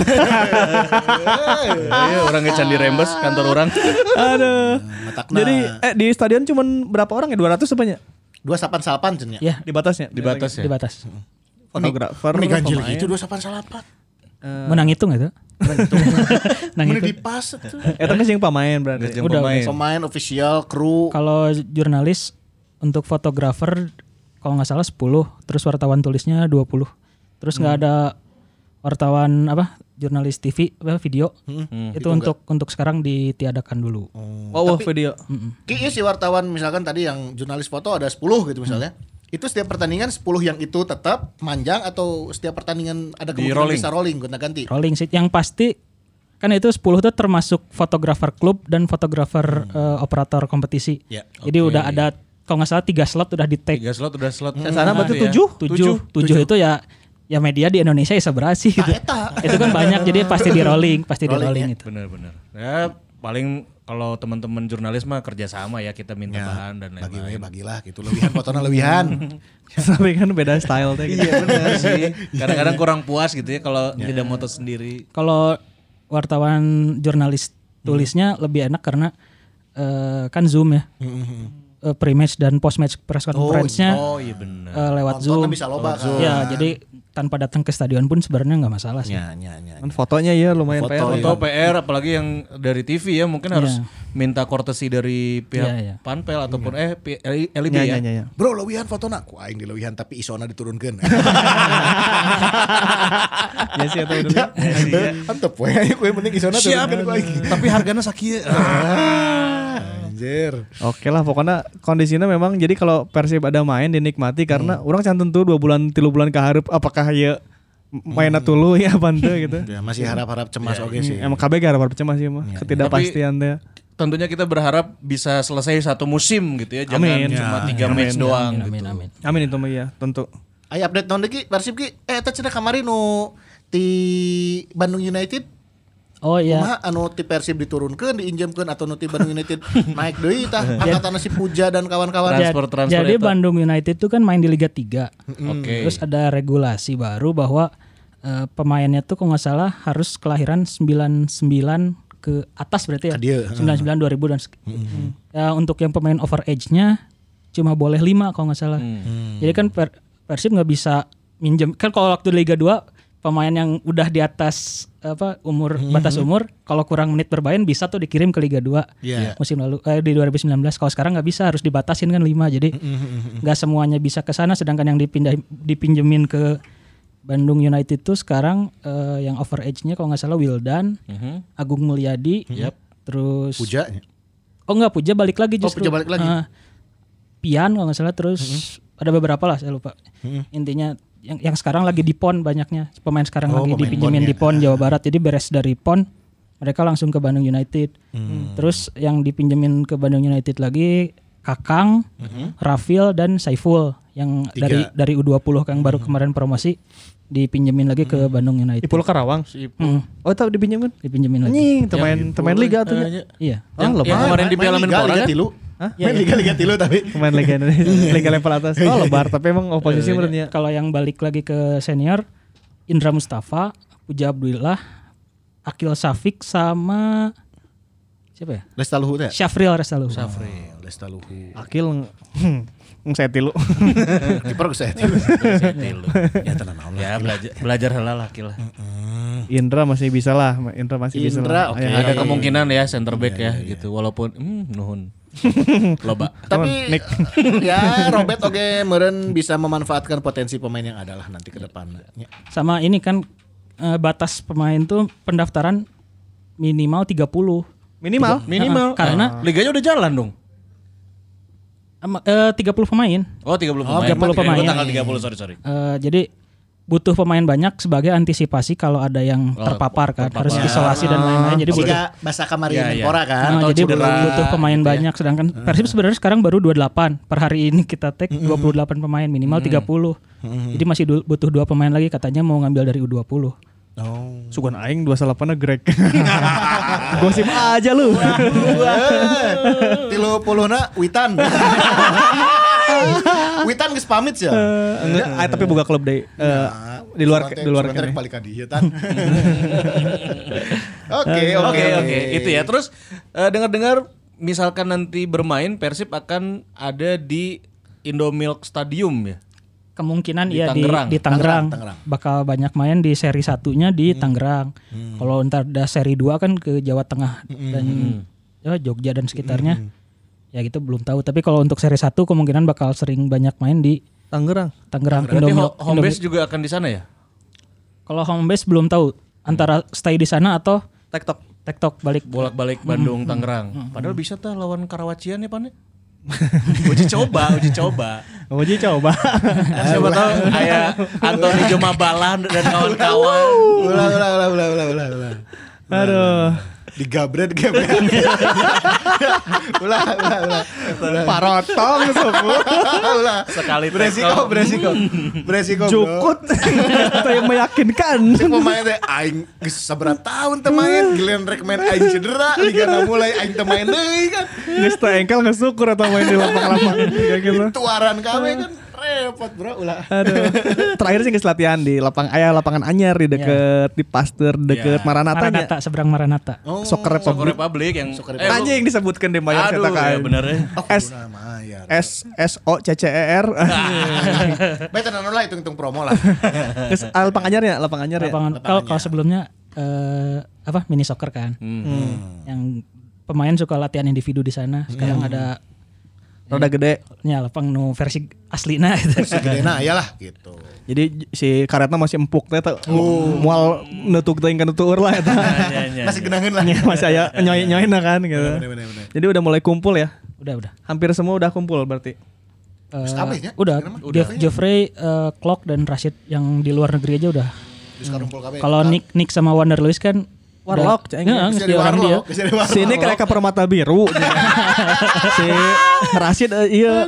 Iya, orang ngecan di rembes kantor orang. Aduh. Matakna. Jadi eh di stadion cuman berapa orang ya? dua ratus apanya? dua salapan cennya. Ya, Di batasnya. Dibatas ya. dibatas. Fotografer. Ini ganjil pemain. gitu dua salapan. Menang hitung itu. Menang Ini hitung. di pas tuh. Eta geus yang pamain berarti. Nggak jam Udah, pemain. Pemain official, kru. Kalau jurnalis untuk fotografer kalau nggak salah sepuluh, terus wartawan tulisnya dua puluh. Terus nggak ada wartawan apa? Jurnalis T V apa video. Itu untuk untuk sekarang ditiadakan dulu. Oh, oh, video. Ki ieu si wartawan misalkan tadi yang jurnalis foto ada sepuluh gitu misalnya. Itu setiap pertandingan sepuluh yang itu tetap manjang atau setiap pertandingan ada Di kemungkinan rolling. bisa rolling gonta-ganti. Rolling sheet yang pasti kan itu sepuluh itu termasuk fotografer klub dan fotografer eh, operator kompetisi. Ya, Jadi udah ada kalau nggak salah tiga slot udah di tag. Tiga slot udah slot. Sana berarti Gitu ya. tujuh. Tujuh, tujuh itu ya ya media di Indonesia ya seberasi gitu. eta. Itu kan banyak jadi pasti di rolling, pasti di Rolling, rolling ya. itu. Benar-benar. Ya paling kalau teman-teman jurnalis mah kerjasama ya kita minta Ya, bahan dan bagi we lain-lain. bagilah gitu lebihan fotona lebihan. Tapi kan beda style teh gitu. Iya benar sih. Kadang-kadang kurang puas gitu ya kalau tidak moto sendiri. Kalau wartawan jurnalis tulisnya lebih enak karena eh, kan Zoom ya. Eh, pre-match dan post-match press conference-nya Oh iya benar. eh, lewat Nontonnya Zoom. bisa loba kan. Ya, jadi tanpa datang ke stadion pun sebenarnya nggak masalah sih. Ya, ya, ya. Kan fotonya ya lumayan Foto, P R. iya. Foto P R apalagi yang dari T V ya mungkin harus Iya. minta courtesy dari pihak Iya, iya. Panpel ataupun eh P- L I B Ya, ya. ya, ya, ya. Bro, lebihan fotona ku aing di lebihan tapi isona diturunkeun. Ya sih atau udah. Antep we ayo ku yang penting isona Siap. turunkeun ku aing. Tapi harganya sakieu. Anjir. Oke lah pokoknya kondisinya memang jadi kalau Persib ada main dinikmati karena orang can tentu dua bulan tilu bulan kehareup apakah ya mainnya tulu ya apa ente gitu. Ya, masih harap-harap cemas oke sih. Emang K B G harap cemas sih mah ketidakpastian teh. Tentunya kita berharap bisa selesai satu musim gitu ya. Jangan Amin. cuma Ya, tiga match doang Amin, gitu. amin. Amin itu mah ya tentu. Ayo update naon deui Ki? Persib Ki. Eh eta cenah kamari nu ti Bandung United Oh iya. kumaha anu ti Persib diturunkeun diinjemkeun atau nu ti Bandung United naik deui tah angkatan si Puja dan kawan-kawan. Transfer- transfer Jadi eta. Bandung United itu kan main di Liga tiga. Oke. Terus ada regulasi baru bahwa eh, pemainnya tuh kalau nggak salah harus kelahiran sembilan puluh sembilan ke atas berarti ya. Ke dia, sembilan puluh sembilan dua ribu dan mm-hmm. ya, untuk yang pemain over age-nya cuma boleh lima kalau nggak salah. Mm. Jadi kan per, Persib nggak bisa minjem kan kalau waktu Liga dua pemain yang udah di atas apa umur mm-hmm. batas umur kalau kurang menit bermain bisa tuh dikirim ke Liga dua yeah. musim lalu eh, di dua ribu sembilan belas. Kalau sekarang nggak bisa, harus dibatasin kan lima. Jadi nggak mm-hmm. semuanya bisa ke sana, sedangkan yang dipindah dipinjemin ke Bandung United itu sekarang uh, yang over age-nya kalau nggak salah Wildan, mm-hmm. Agung Mulyadi, mm-hmm. terus Puja. Oh enggak, Puja balik lagi justru. Oh, Puja balik lagi. Uh, Pian kalau nggak salah, terus mm-hmm. ada beberapa lah saya lupa. Mm-hmm. Intinya yang yang sekarang lagi di P O N banyaknya. Pemain sekarang oh, lagi dipinjemin di P O N Jawa Barat. Jadi beres dari P O N mereka langsung ke Bandung United. Mm. Terus yang dipinjemin ke Bandung United lagi Kakang, mm-hmm. Rafil dan Saiful yang Tiga. dari dari U dua puluh yang baru mm-hmm. kemarin promosi dipinjemin lagi ke Bandung United. Ipul Karawang. Hmm. Oh, tahu dipinjemin? Dipinjemin lagi. Nih, teman teman liga tuh. Uh, iya. Yang, oh, yang kemarin di Piala Menpora kan? Hah? Main liga-liga tilu tapi pemain liga liga level atas. Oh, lebar tapi emang oposisi menurutnya. Kalau yang balik lagi ke senior Indra Mustafa, Puja Abdullah, Akil Safik sama siapa ya? Lestaluhu teh. Syafril Lestaluhu. Syafril Lestaluhu. Akil Ng saya tilu. Kiper gue saya tilu. Ya tenang Allah. Ya belajar belajar heula lah Akil. Indra masih bisa lah, Indra masih Indra, bisa lah. Okay. Ya, ada kemungkinan ya center back ya, ya, ya gitu. Walaupun hmm, nuhun. Loba. Tapi ya Robert oge meureun bisa memanfaatkan potensi pemain yang ada lah nanti ke depan. Sama ini kan uh, batas pemain tuh pendaftaran minimal tiga puluh. Minimal? Tiga, minimal. Uh, karena uh, liganya udah jalan dong. Uh, tiga puluh pemain. Oh, tiga puluh pemain. tiga puluh pemain. Oh, tanggal tiga puluh, sorry sorry. Uh, jadi butuh pemain banyak sebagai antisipasi kalau ada yang oh, terpapar kan, terpapar. Harus isolasi dan lain-lain. Jadi butuh bahasa kamari ya, Menpora ya. kan. Nah, jadi cedera, butuh pemain gitu banyak. Ya. Sedangkan hmm. Persib sebenarnya sekarang baru dua puluh delapan. Per hari ini kita take hmm. dua puluh delapan pemain, minimal hmm. tiga puluh. Hmm. Jadi masih du- butuh dua pemain lagi, katanya mau ngambil dari U dua puluh. Oh. Sugan aing dua puluh delapan Greg. Gosip aja lu. tiga puluh na Witan. Witan geus pamit ya. Enggak, uh, tapi boga klub deui. Uh, di luar di luar kan. Balik ka dieu tan. Oke, oke, oke. Itu ya. Terus uh, dengar-dengar misalkan nanti bermain Persib akan ada di Indomilk Stadium ya. Kemungkinan di iya Tangerang. di di Tangerang. Tangerang bakal banyak main di seri satunya di hmm. Tangerang. Hmm. Kalau ntar ada seri dua kan ke Jawa Tengah hmm. dan ya, Jogja dan sekitarnya. Hmm. Ya gitu belum tahu. Tapi kalau untuk seri satu kemungkinan bakal sering banyak main di Tangerang. Tangerang. Berarti Indomil- home base Indomil- juga akan di sana ya? Kalau home base belum tahu. Antara stay di sana atau tektok tektok balik bolak-balik Bandung hmm. Tangerang. Hmm. Padahal bisa tuh lawan Karawacian ya Pan. uji coba, uji coba. Uji coba. Siapa tahu kayak Anthony Jumabala dan kawan-kawan. Ulah ulah ulah ulah ulah ulah ulah. Aduh. Digabret gabret. Ulah ulah ulah. Parotong semua. Ulah. Sekali beresiko beresiko. Beresiko. Cukut. Itu yang meyakinkan. Pemain teh aing geus sabaraha tahun teh main, giliran rek main aing cedera, ligana mulai aing teh main deui kan. Geus teh engkel geus syukur atau main di lapang-lapang kayak gitu. Tuaran kawe kan repot bro ulah. Aduh. Terakhir sih geus latihan di lapang aya lapangan anyar di deket yeah. di Pasteur deket yeah. Maranata nya. Maranata seberang Maranata. Oh, Soccer Republic. Soccer Republic yang eh, anjing disebutkan di bayar cetak ya bener ya. S S S O C C E R. Bae tenan lah hitung-hitung promo lah. Geus lapang anyarnya, lapang anyar ya. Kalau kalau sebelumnya uh, apa mini soccer kan. Hmm. Hmm. Yang pemain suka latihan individu di sana. Sekarang hmm. ada roda gede. Ya lapang nu versi aslina gitu. Versi gedena ayalah gitu. Jadi si karetna masih empuk teh teh. Moal nutuk teuing kana tueur lah eta. Masih genangeun lah. Masih aya nyoy-nyoyna kan gitu. Jadi udah mulai kumpul ya. Udah udah. Hampir semua udah kumpul berarti. Uh, udah. Udah. Geoffrey, uh, Clock dan Rashid yang di luar negeri aja udah. Hmm. Kalau Nick Nick sama Wander Lewis kan Warlock, ceng. Heeh, di orang dia. Sini kayak ke permata biru. Si Rashid uh, iya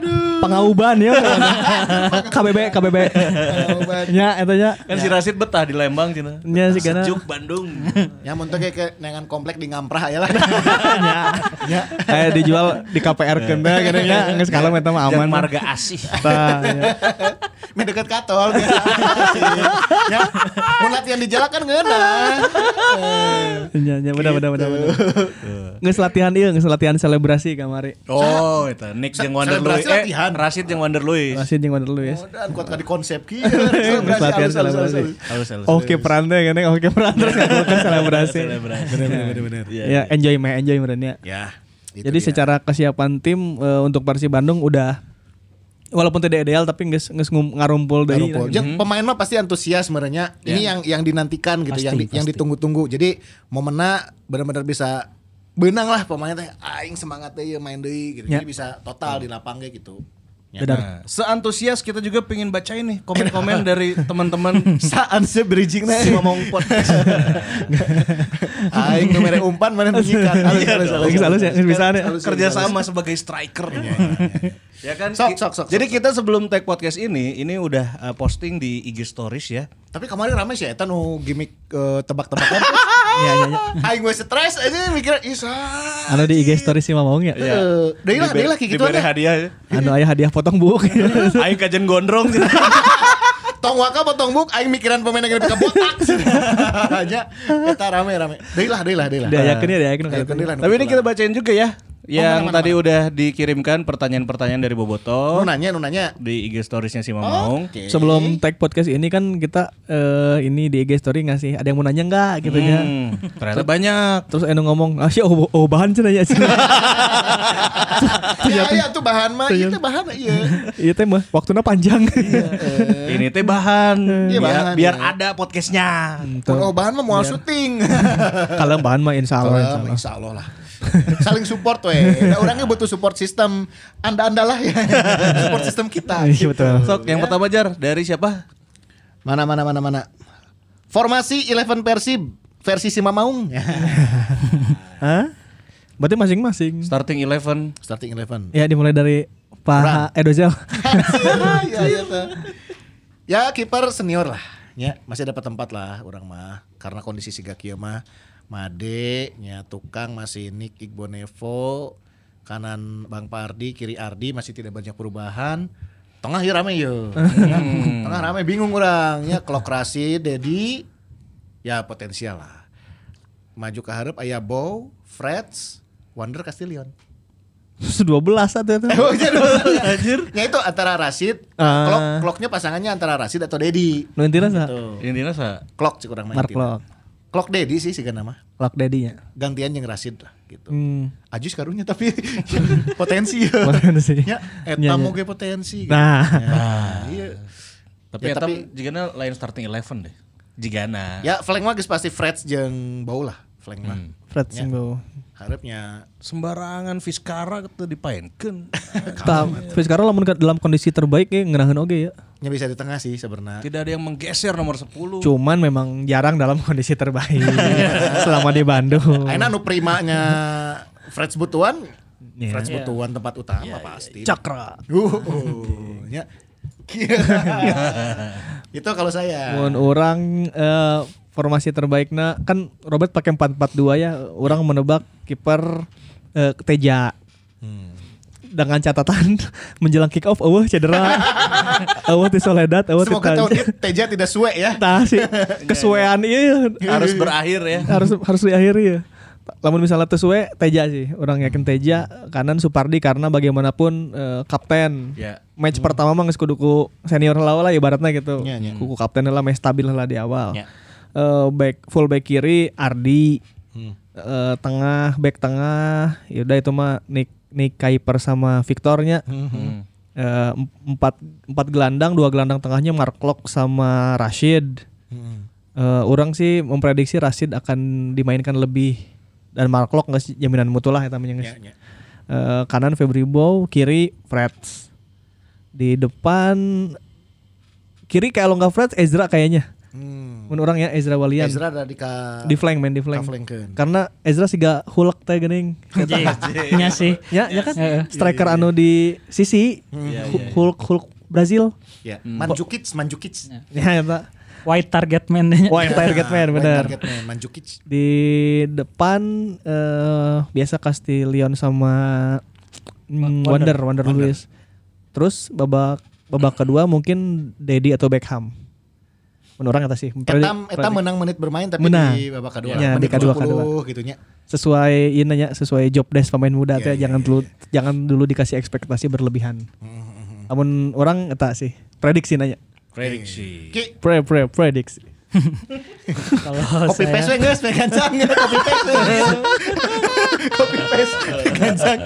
Pangauban ya. K B B K B B. Nya eta nya. Kan si Rasid betah di Lembang cenah. Nya sih kana. Sejuk Bandung. Ya mun teh kayak nengan komplek di Ngamprah ya lah. Nya. Kayak dijual di K P R keun teh gini nya geus kalem eta mah aman. Yang marga asih. Tah nya. Meh deket katol biasa. Ya. Mun latihan di jalan kan ngeunah. Nya nya bener bener bener bener. Geus latihan ieu, geus latihan selebrasi kamari. Oh, itu Nick jeung Wonder Louis. Selebrasi latihan. Eh, Rasid jeung Wonder Louis. Masih jeung Wonder Louis. Oh, dan kuat ka di konsep kieu. Geus latihan selebrasi. Halus halus. Oke peran teh gini, oke peran terus ngakukeun selebrasi. Bener-bener. Ya enjoy mah enjoy merenya. Ya. itu Jadi dia. secara kesiapan tim eh, untuk Persib Bandung udah walaupun tidak ideal tapi geus geus ngum- ngarumpul deui. Ngarumpul. Jeung pemain mah pasti antusias sebenarnya. Ini yang yang dinantikan gitu, Pasti, yang di- yang pasti. ditunggu-tunggu. Jadi momenna benar-benar bisa benang lah pemain teh aing semangat deui main deui gitu. Ya. Jadi bisa total di lapang ge gitu. Ya. Benar. Nah, seantusias kita juga pengen bacain nih komen-komen dari teman-teman Saan se bridging na si Ngomong Podcast. aing nu mere umpan mana menyikat. Halus, halus, halus. Lagi salus ya, geus bisa nih. Halus, halus, Kerja halus. sama sebagai striker. Ya kan? Sok, sok, sok, Jadi sok, kita sebelum take podcast ini, ini udah uh, posting di I G Stories ya. Tapi kemarin rame sih eta nu gimmick eh, tebak-tebakan. Iya iya iya. Aing gue stres aja mikir isa. Anu di I G story sih Mamong ya. Eh, deui lah, deui lah kayak gitu Diberi aja. hadiah. Anu aya hadiah potong buk. Aing kajen gondrong. Tong waka potong buk aing mikiran pemain yang ka botak. Aja eta rame-rame. Deui lah, deui lah, deui lah. Dia yakin ya, dia yakin. Yakin deui lah, Tapi ini kita bacain juga ya. Yang mana, mana, tadi udah dikirimkan pertanyaan-pertanyaan dari Boboto Nu nanya, nu nanya. di I G Storiesnya si Mamong. Oke. Sebelum tag podcast ini kan kita eh, ini di I G story ngasih ada yang mau nanya enggak gitu ya. Hmm, ternyata banyak. Terus Eno ngomong, "Ah, sih oh, oh bahan cenah ya." Ya, ya tuh bahan mah, itu bahan iya. Iya teh mah waktuna panjang. Ini teh bahan. Iya, biar, bahan, biar ya. ada podcastnya. Mun oh bahan mah moal syuting. Kalau bahan mah insya Allah, insya Kalau Allah. insya Allah lah. Saling support weh. Nah, orangnya butuh support sistem. Anda-anda lah ya. Support sistem kita. Iya betul. Sok, yang pertama Jar, dari siapa? Mana mana mana mana. Formasi Eleven Persib versi si Mamaung. Hah? Berarti masing-masing. Starting eleven. Starting Eleven. Ya dimulai dari Pak Edozel. ya ya tuh. Ya kiper senior lah. Ya masih dapat tempat lah orang mah karena kondisi siga kieu mah. Made nya tukang masih Nick Igbonevo, kanan Bang Pardi, kiri Ardi masih tidak banyak perubahan. Tengah ya rame yo. Tengah rame bingung orang nya Klokrasi, Dedi ya potensial lah. Maju ke hareup aya Bow, Freds, Wander Castillion. dua belas satu itu. Oh, jadi anjir. Ya itu antara Rashid, Ah. klok kloknya pasangannya antara Rashid atau Dedi. Nu intina sa? Tuh. Ini nasa. Klok sih kurang main. Mark Klok. Klok Dedi sih sih nama. Lock Daddy-nya. Gantian yang Rashid lah gitu. Hmm. Ajus karunya tapi potensi ya. Potensi. Ya, eta Nya, nya. moge potensi. Gitu. Nah. Ya, iya. Tapi Ya, ya, tapi- jigana lain starting eleven deh. Jigana. Ya, flank mah geus pasti Freds jeung Bau lah, flank mah. Fred Ya. Simbo. Harapnya Sembarangan Fiskara itu dipainkan. Tapi sekarang lamun ke- dalam kondisi terbaik ya ngerahin oge ya. nya bisa di tengah sih sebenarnya. Tidak ada yang menggeser nomor sepuluh. Cuman memang jarang dalam kondisi terbaik selama di Bandung. Aina nu primanya Freds Butuan, Iya. Freds Butuan tempat utama pasti. Cakra. Uh, uh, ya. Itu kalau saya. Mun orang eh, formasi terbaiknya kan Robert pakai empat empat dua ya. Orang menebak kiper eh, Teja. Dengan catatan menjelang kick off eueuh cedera. Eueuh ti Soledad, eueuh ti Semoga tahun Teja. ini Teja tidak suwe ya. Tah sih kesuwean ieu Harus berakhir ya. harus harus diakhiri ya. Lamun misalnya teu suwe Teja sih. Orang yakin Teja, kanan Supardi karena bagaimanapun eh, kapten. Ya. Match pertama mah geus kudu ku senior heula lah ibaratnya gitu. Ya, ya. Kuku kapten heula meh stabil heula di awal. Ya. Eh, back full back kiri Ardi. Eh, tengah back tengah ya udah itu mah Nick Nick Kuiper sama Victornya. Hmm. Eh, empat empat gelandang, dua gelandang tengahnya Mark Klok sama Rashid. Eh, orang sih memprediksi Rashid akan dimainkan lebih dan Mark Klok nggak sih jaminan mutu lah eta mah geus. Ya, ya. Eh, kanan Febri Bow, kiri Freds. Di depan kiri kayak lo nggak Freds, Ezra kayaknya. Hmm. Mun urang ya Ezra Walian. Ezra ada di ka Di flank men di flank. Ka-flankeun. Karena Ezra siga Hulk teh geuning. Nya sih. Ya, ya kan? Heeh. Striker anu di sisi Iya, Hu- iya. Hulk Hulk Brazil. Ya, Mandzukic, Mandzukic. Ya eta. White target man nya. Wah, yang target man White benar. Target man, Mandzukic. Di depan eh biasa Castillion sama mm, Wander, Wander Luiz. Terus babak babak kedua mungkin Dedi atau Beckham. Menurut eta sih. Eta eta menang menit bermain tapi Menang. di babak kedua. Ya, di menit kedua, sepuluh kedua. gitu nya. Sesuai ini nya, sesuai job desk pemain muda Iya, teh iya, jangan iya, dulu jangan dulu dikasih ekspektasi berlebihan. Namun orang eta sih prediksi nanya. Prediksi. Ki, Pre pre prediksi. Kalau copy paste saya we geus, we gancang copy paste. Copy paste gancang.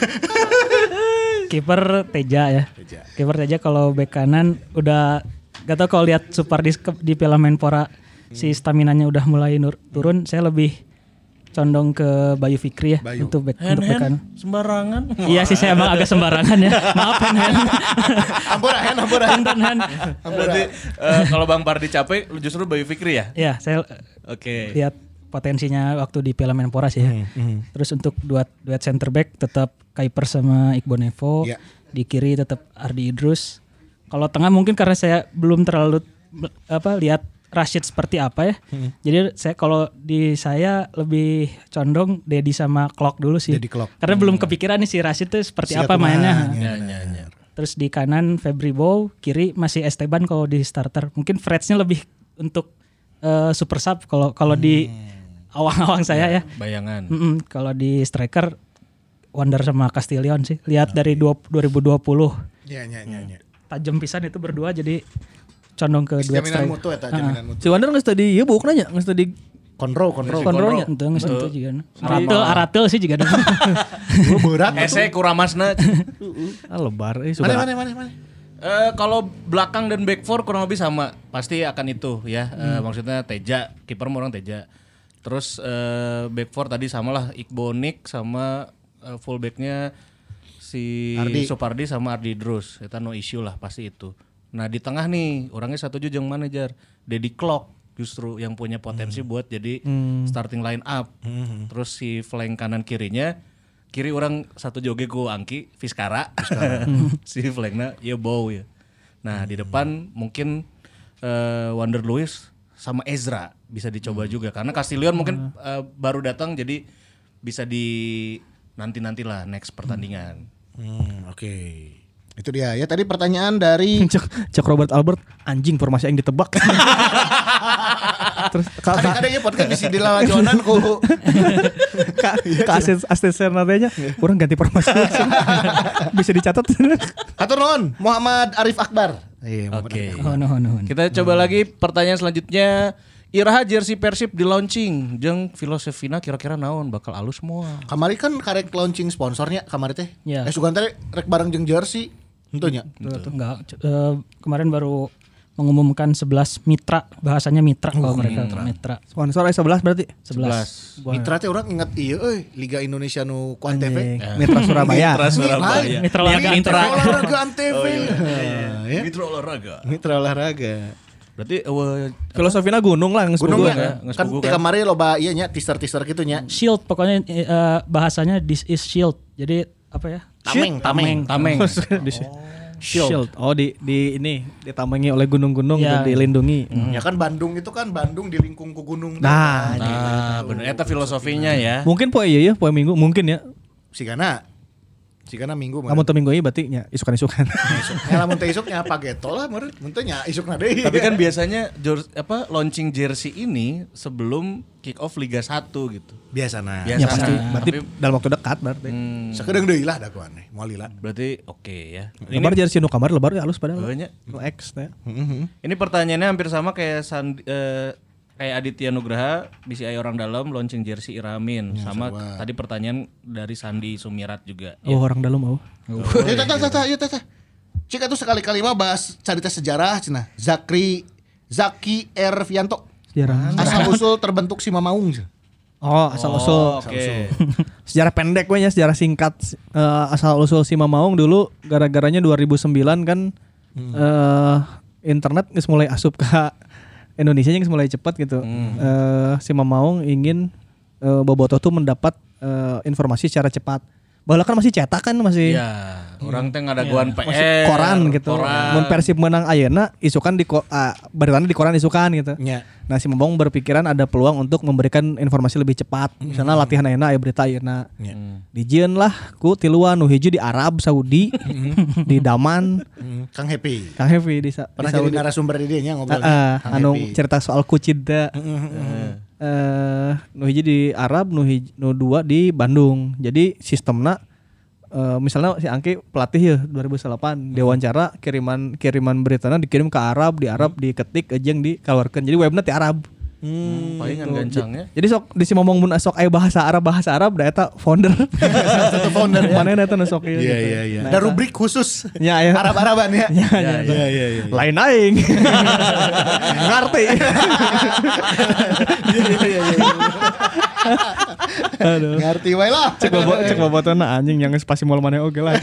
kiper Teja ya. Teja. Kiper Teja kalau bek kanan udah gak tau kalau lihat Supardi ke- di Piala Menpora si staminanya udah mulai nur- turun, saya lebih condong ke Bayu Fikri ya Bayu. untuk bek Hand untuk bek hand kanan. sembarangan. Iya sih saya emang agak sembarangan ya. Maaf hand hand. Ampura hen, ampura hen. Hand hand. Berarti eh, kalau Bang Pardi capek lu justru Bayu Fikri ya? Ya saya Oke. lihat potensinya waktu di Piala Menpora sih ya. Terus untuk duet duet center back tetap Kuiper sama Iqbal Nevo. Iya. Di kiri tetap Ardi Idrus. Kalau tengah mungkin karena saya belum terlalu be- apa lihat Rashid seperti apa ya. Jadi saya kalau di saya lebih condong Dedi sama Klok dulu sih. Dedi Klok. Karena belum kepikiran nih si Rashid tuh seperti Siap apa kumaha, mainnya. ya. Ya, ya, ya. Terus di kanan Febri Bow, kiri masih Esteban kalau di starter. Mungkin Freds-nya lebih untuk eh, super sub kalau kalau di awang-awang saya ya. Bayangan. Mm-mm, kalau di striker Wander sama Castillion sih. Lihat dari dua- dua ribu dua puluh Ya, ya, ya, ya. tajam pisan itu berdua jadi condong ke duet Jaminan striker. mutu eta, jaminan mutu. Si Wander geus tadi ieu buk nanya, geus tadi Kontrol, kontrol. kontrolnya. Itu nggak sentuh juga. Aratel, aratel sih juga. Gua berat. Ese kuramasna. Ah lebar Mana, eh sudah. mana, mana, mana. Eh kalau belakang dan back four kurang lebih sama, pasti akan itu ya. Eh, maksudnya Teja, kiper orang Teja. Terus eh, back four tadi samalah Iqbonik sama eh, fullbacknya si Ardi. Supardi sama Ardi Idrus. Itu no issue lah pasti itu. Nah di tengah nih orangnya satu jeung manajer Dedi Klok justru yang punya potensi buat jadi starting line up. Terus si flank kanan kirinya kiri orang satu joge ku Angki Fiskara, si flanknya ya Bow ya. Nah di depan mungkin eh, Wander Luiz sama Ezra bisa dicoba juga karena Castillion mungkin eh, baru datang jadi bisa di nanti nantilah next pertandingan. Hmm, oke. Itu dia ya tadi pertanyaan dari Cek, cek Robert Albert anjing formasi yang ditebak. Terus ka ka, kadang-kadang ya podcast bisa dilalajonan ku. ka, ka asisten asisten nadanya kurang ganti formasi. Bisa dicatat. Hatur nuhun Muhammad Arif Akbar. Iya, Oke. Oh, no, no. Kita coba lagi pertanyaan selanjutnya. Iraha jersey Persib di launching jeung filosofina kira-kira naon bakal alus semua. Kamari kan karek launching sponsornya kamari teh. Ya. Eh sugan teh rek bareng jeung jersey. Tentunya. Enggak, c- eh, kemarin baru mengumumkan sebelas mitra, bahasanya mitra kalau mereka mitra. Sponsor sebelas berarti. sebelas. Mitra teh orang ingat iya euy Liga Indonesia nu ku Antv. Anjing. Mitra Surabaya. Mitra Surabaya. Mitra olahraga Mitra. Antv. Olahraga Antv. Ya. Mitra olahraga. Mitra olahraga. Berarti uh, Filosofina gunung lah geus Gunung boga. ya. nggak Kan sepugu ti kan? kamari loba ieu nya teaser-teaser kitu nya. Shield pokoknya eh, bahasanya this is shield. Jadi apa ya? Tameng, tameng. tameng. Di- Shield. Oh di di ini ditambangi oleh gunung-gunung Ya. dan dilindungi. Ya kan Bandung itu kan Bandung dilingkung ku gunung. Nah, Nah, bener eta filosofinya ya. mungkin poe ieu ya, poe minggu mungkin ya. Sigana. Sigana minggu mah. Kamu teu minggu ieu berarti nya isukan-isukan. Ya lamun teh isuknya apa geto lah meureun. Mun teh nya isukna deui. Tapi kan biasanya jor- apa launching jersey ini sebelum kick off Liga satu gitu. biasana. Biasa. Ya pasti Nah, berarti tapi- dalam waktu dekat berarti. Hmm, Sakedeung deui lah da ku aneh. Moal lila. berarti oke ya. Lebar jersey nu kamar lebar ya halus padahal. Banyak. Nu X teh. Ini pertanyaannya hampir sama kayak Sandi, eh, kayak Aditya Nugraha B C I orang dalam launching jersey Iramin sama tadi pertanyaan dari Sandi Sumirat juga. Oh, orang dalam oh. Ya tah tah tah ya tah tah. Cik atuh sekali-kali mah bahas cerita sejarah cenah. Zakri Zaki Ervianto. Sejarah. Asal usul terbentuk si Mamaung. cenah. Oh, asal usul. Oke. Sejarah pendek we nya, sejarah singkat eh, asal usul si Mamaung dulu gara-garanya dua ribu sembilan kan eh internet geus mulai asup ka Indonesia yang mulai cepat gitu. Eh, si Mamaung ingin eh, Bobotoh tuh mendapat eh, informasi secara cepat. Bahwa kan masih cetak kan masih Ya, orang teh ngadaguan P R, masih koran gitu. koran. Mun Persib menang ayeuna isukan di ko- ah, beritanya di koran isukan gitu. Nya. Nah si Mamaung berpikiran ada peluang untuk memberikan informasi lebih cepat. Misalnya latihan ayeuna aya berita ayeuna. Dijieun lah ku tiluan nu hiji di Arab Saudi, di Daman, Hmm, Kang Happy. Kang Heavy di, Sa- Pernah di jadi Saudi. narasumber di dia nya Ah, ngobrolnya. ah, Kang anu Happy. cerita soal kucida. Eh, nu hiji di Arab, nu hiji, nu dua di Bandung. Jadi sistemna eh, misalnya si Angki pelatih ya dua ribu delapan diwawancara kiriman kiriman beritanya dikirim ke Arab, di Arab diketik ejeng dikeluarkan. Jadi webna ti Arab. Hmm, palingan gancangnya. Jadi sok di si ngomong mun sok aya bahasa Arab bahasa Arab da eta founder. Satu founder ya. Mana eta nu sok ieu Iya gitu. iya iya. Nah, Ada eta- rubrik khusus. Ya, ya. Arab-Araban ya. Ya, ya, Iya iya iya. lain aing. Ngerti. Aduh. Ngerti wae lah. Cek bobo cek bobotona anjing yang spasi moal maneh oge lah.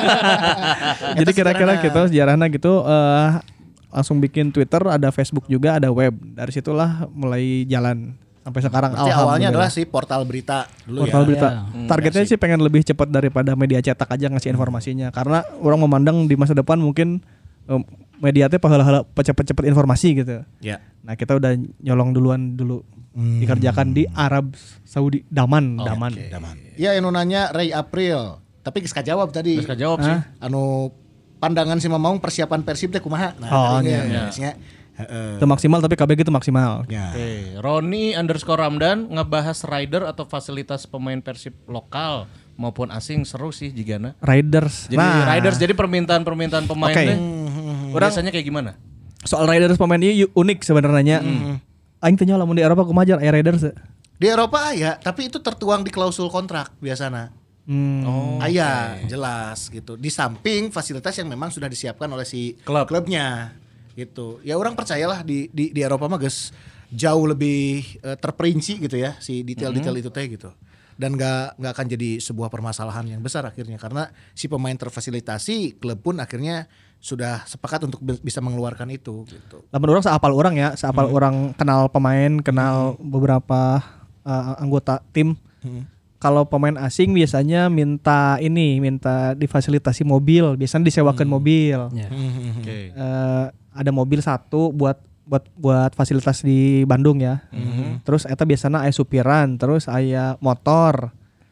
Jadi kira-kira gitu sejarahnya gitu eh, langsung bikin Twitter, ada Facebook juga, ada web. Dari situlah mulai jalan sampai sekarang. Berarti awalnya adalah Alhamdulillah. si portal berita dulu Portal ya. berita. Ya. Targetnya sih pengen lebih cepat daripada media cetak aja ngasih informasinya. Karena orang memandang di masa depan mungkin em, media teh pahala-hala cepet-cepet informasi gitu. Ya. Nah kita udah nyolong duluan dulu dikerjakan di Arab Saudi Daman, Daman. Daman. Iya yang nanya Ray April. Tapi geus kajawab tadi. Terus kajawab sih. Anu pandangan si Mamaung persiapan Persib teh kumaha? Nah, Oh, tadi iya, nya, geusnya. Heeh. Itu maksimal tapi K B G itu maksimal. Ya. Oke, Roni underscore Ramdan ngebahas rider atau fasilitas pemain Persib lokal maupun asing seru sih jigana. Riders. Jadi nah, riders jadi permintaan-permintaan pemain Oke. teh biasanya kayak gimana? soal Riders pemain ini unik sebenarnya. Aing tanya lamun di Eropa kumaha aya Riders. Di Eropa ya, tapi itu tertuang di klausul kontrak biasana. Hmm. Oh, Aya, jelas gitu. Di samping fasilitas yang memang sudah disiapkan oleh si Klub. klubnya gitu. Ya orang percayalah di di, di Eropa mah geus jauh lebih eh, terperinci gitu ya si detail-detail itu teh gitu. Dan nggak nggak akan jadi sebuah permasalahan yang besar akhirnya karena si pemain terfasilitasi, klub pun akhirnya sudah sepakat untuk be- bisa mengeluarkan itu gitu. Lamun orang seapal orang ya, seapal orang kenal pemain, kenal beberapa uh, anggota tim. Kalau pemain asing biasanya minta ini, minta difasilitasi mobil, biasanya disewakan mobil. Ya. Oke. Eh, ada mobil satu buat buat buat fasilitas di Bandung ya. Terus eta biasanya aya supiran, terus aya motor.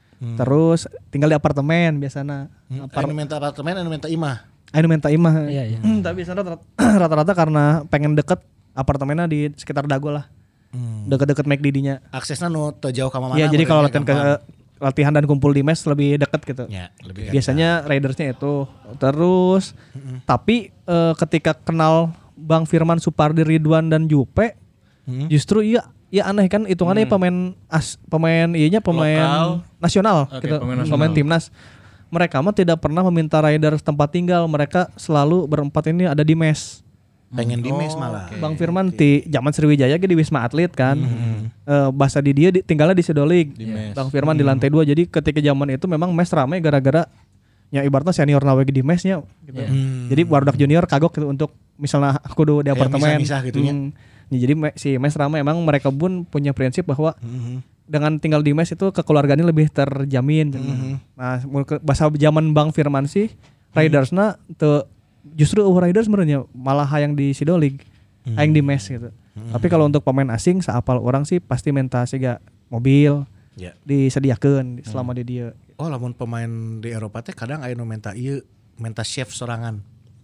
Terus tinggal di apartemen biasanya. Anu minta apartemen, anu minta imah. Anu minta imah. Iya, iya. Hmm, tapi biasanya rata- rata-rata karena pengen deket apartemennya di sekitar Dago lah. Deket-deket McD dinya. Aksesnya nu teu jauh ka mana. Iya, jadi kalau latihan ke gampang. latihan dan kumpul di mes lebih deket gitu. Ya, lebih Biasanya ridersnya itu. Terus tapi eh, ketika kenal Bang Firman Supardi, Ridwan dan Jupe, justru iya iya aneh kan hitungannya pemain as pemain iyanya pemain Lokal. nasional Oke, gitu, pemain pemain, nasional. timnas. Mereka mah tidak pernah meminta riders tempat tinggal, mereka selalu berempat ini ada di mes. pengen di mes malah. Bang Firman di zaman Sriwijaya ge di Wisma Atlet kan. Eh, bahasa di dia di, tinggalnya di Sedolik. mes. Bang Firman di lantai dua. Jadi ketika zaman itu memang mes ramai gara-gara ya ibaratnya senior nawe di mesnya gitu. Jadi barudak junior kagok gitu untuk misalnya kudu di Kayak apartemen. misah-misah gitu nya. Hmm. Ya, jadi me- si mes ramai emang mereka pun punya prinsip bahwa dengan tinggal di mes itu kekeluargaannya lebih terjamin. Nah, mun ke- bahasa zaman Bang Firman sih ridersna teu justru uh, riders sebenarnya malah hayang di Sidolik, hayang di mes gitu. Tapi kalau untuk pemain asing seapal orang sih pasti minta siga mobil Ya. disediakeun selama di dia. Oh, lamun pemain di Eropa teh kadang aya nu minta ieu, minta chef sorangan.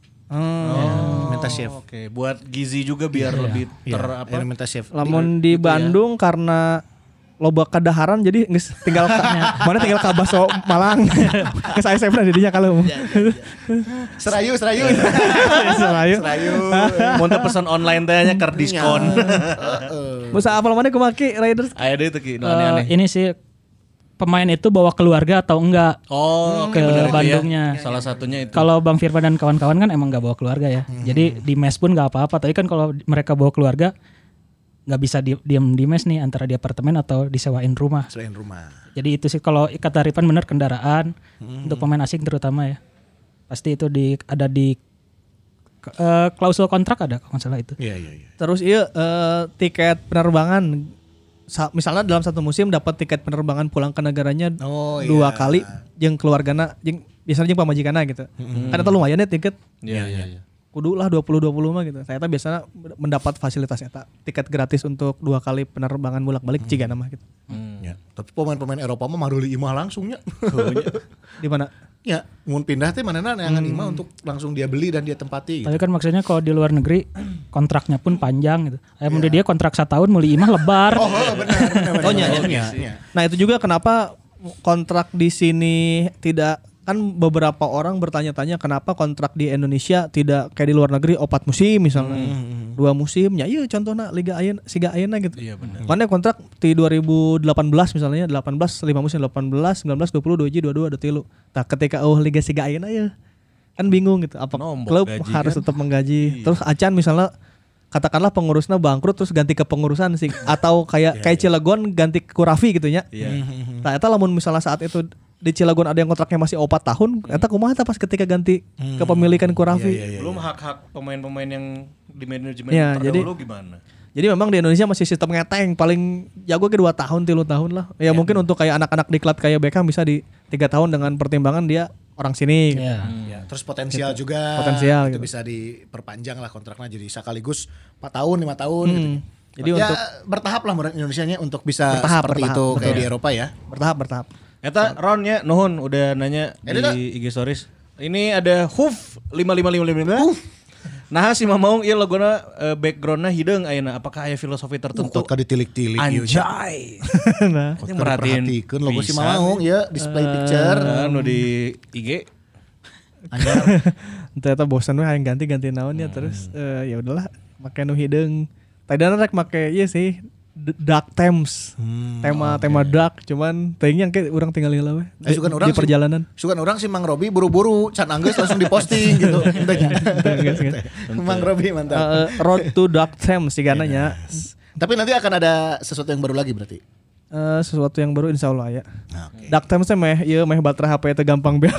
Oh. Minta chef. Oke, buat gizi juga biar lebih ter Iya, apa? aya nu minta chef. Lamun di Bandung karena loba kadaharan jadi geus tinggal ka, mana tinggal ka baso Malang. Geus aya chefna di dinya kalau. Serayu, serayu. Selayu. Serayu. Mau pesan online teh nya keur diskon. Musa apal mana kumaki riders? Aya deui teh ki nu Eh, aneh-aneh. ini sih pemain itu bawa keluarga atau enggak Oh, oke ke benar itu ya. Bandungnya. Salah satunya itu. Kalau Bang Firman dan kawan-kawan kan emang nggak bawa keluarga ya. Jadi di mes pun nggak apa-apa. Tapi kan kalau mereka bawa keluarga nggak bisa di, diam di mes nih antara di apartemen atau disewain rumah. Selain rumah. Jadi itu sih kalau kata Rifan benar kendaraan untuk pemain asing terutama ya. Pasti itu di ada di eh, klausul kontrak ada kalau nggak salah itu. Iya iya iya. Terus iya eh, tiket penerbangan Sa- misalnya dalam satu musim dapat tiket penerbangan pulang ke negaranya Oh, dua iya. kali jeung keluargana jeung biasanya jeung pamajikanna gitu. Kan itu lumayan ya tiket. Iya iya iya. Kudu lah dua puluh dua puluh mah gitu. Saya tuh biasanya mendapat fasilitas eta tiket gratis untuk dua kali penerbangan bolak-balik cigana mah gitu. Ya. Tapi pemain-pemain Eropa mah maruli imah langsungnya. Di mana? Ya, mun pindah teh manehna neangan imah untuk langsung dia beli dan dia tempati. Tapi kan maksudnya kalau di luar negeri kontraknya pun panjang gitu. Eh mun dia kontrak setahun meuli imah lebar. Oh, benar benar. benar. Oh, iya, Oh, iya. iya. Nah, itu juga kenapa kontrak di sini tidak kan beberapa orang bertanya-tanya kenapa kontrak di Indonesia tidak kayak di luar negeri opat musim misalnya. Dua musim ya iya contohnya Liga Ayeuna Siga Ayeuna gitu. Iya benar. Karena kontrak di dua ribu delapan belas misalnya delapan belas lima musim delapan belas sembilan belas dua puluh dua puluh dua puluh dua tilu. Nah, ketika oh Liga Siga Ayeuna ya kan bingung gitu apa Nombok klub gaji harus kan? tetap menggaji. Terus acan misalnya katakanlah pengurusnya bangkrut terus ganti ke pengurusan sih atau kayak kayak Cilegon ganti ke Kurafi gitu ya. Iya. Nah, eta lamun misalnya saat itu di Cilegon ada yang kontraknya masih opat tahun, eta kumaha eta pas ketika ganti kepemilikan Kurafi. Belum hak-hak pemain-pemain yang di manajemen Iya, jadi- terdahulu gimana? Jadi memang di Indonesia masih sistem ngeteng paling jago ke dua tahun tilu tahun lah. Ya, mungkin untuk kayak anak-anak diklat kayak Beckham bisa di tiga tahun dengan pertimbangan dia orang sini. gitu. Iya. Ya, terus potensial juga Potensial itu gitu. bisa diperpanjang lah kontraknya jadi sekaligus empat tahun lima tahun gitu. Jadi ya, untuk- bertahap lah menurut Indonesianya untuk bisa Bertahap, seperti bertahap, itu kayak betul. di Eropa ya. Bertahap bertahap. Eta Ron ya nuhun udah nanya Eh, Deda. di I G stories. Ini ada Huf lima lima lima lima lima. Nah si Mamaung ieu logona uh, backgroundna hideung ayeuna apakah aya filosofi tertentu? Kok ka ditilik-tilik ieu. Anjay. Nah, Kok Yang merhatiin perhatikan logo si bisa. Mamaung ya display picture. Nah, nu di I G. ternyata bosan we hayang ganti-ganti naon ya terus eh, ya udahlah make nu hideung. Tadina rek make ieu sih D- Dark Themes. tema tema dark cuman teuing ke urang tinggal heula we. Eh, sugan urang Di sih- perjalanan. Sugan orang si Mang Robi buru-buru can anggeus langsung diposting gitu. Geus, geus. Mang Robi mantap. Eh, Road to Dark Themes sih gananya. Tapi nanti akan ada sesuatu yang baru lagi berarti. Eh, sesuatu yang baru insya Allah ya. Nah, oke. Dark Themes teh meh ieu meh baterai H P teh gampang beak.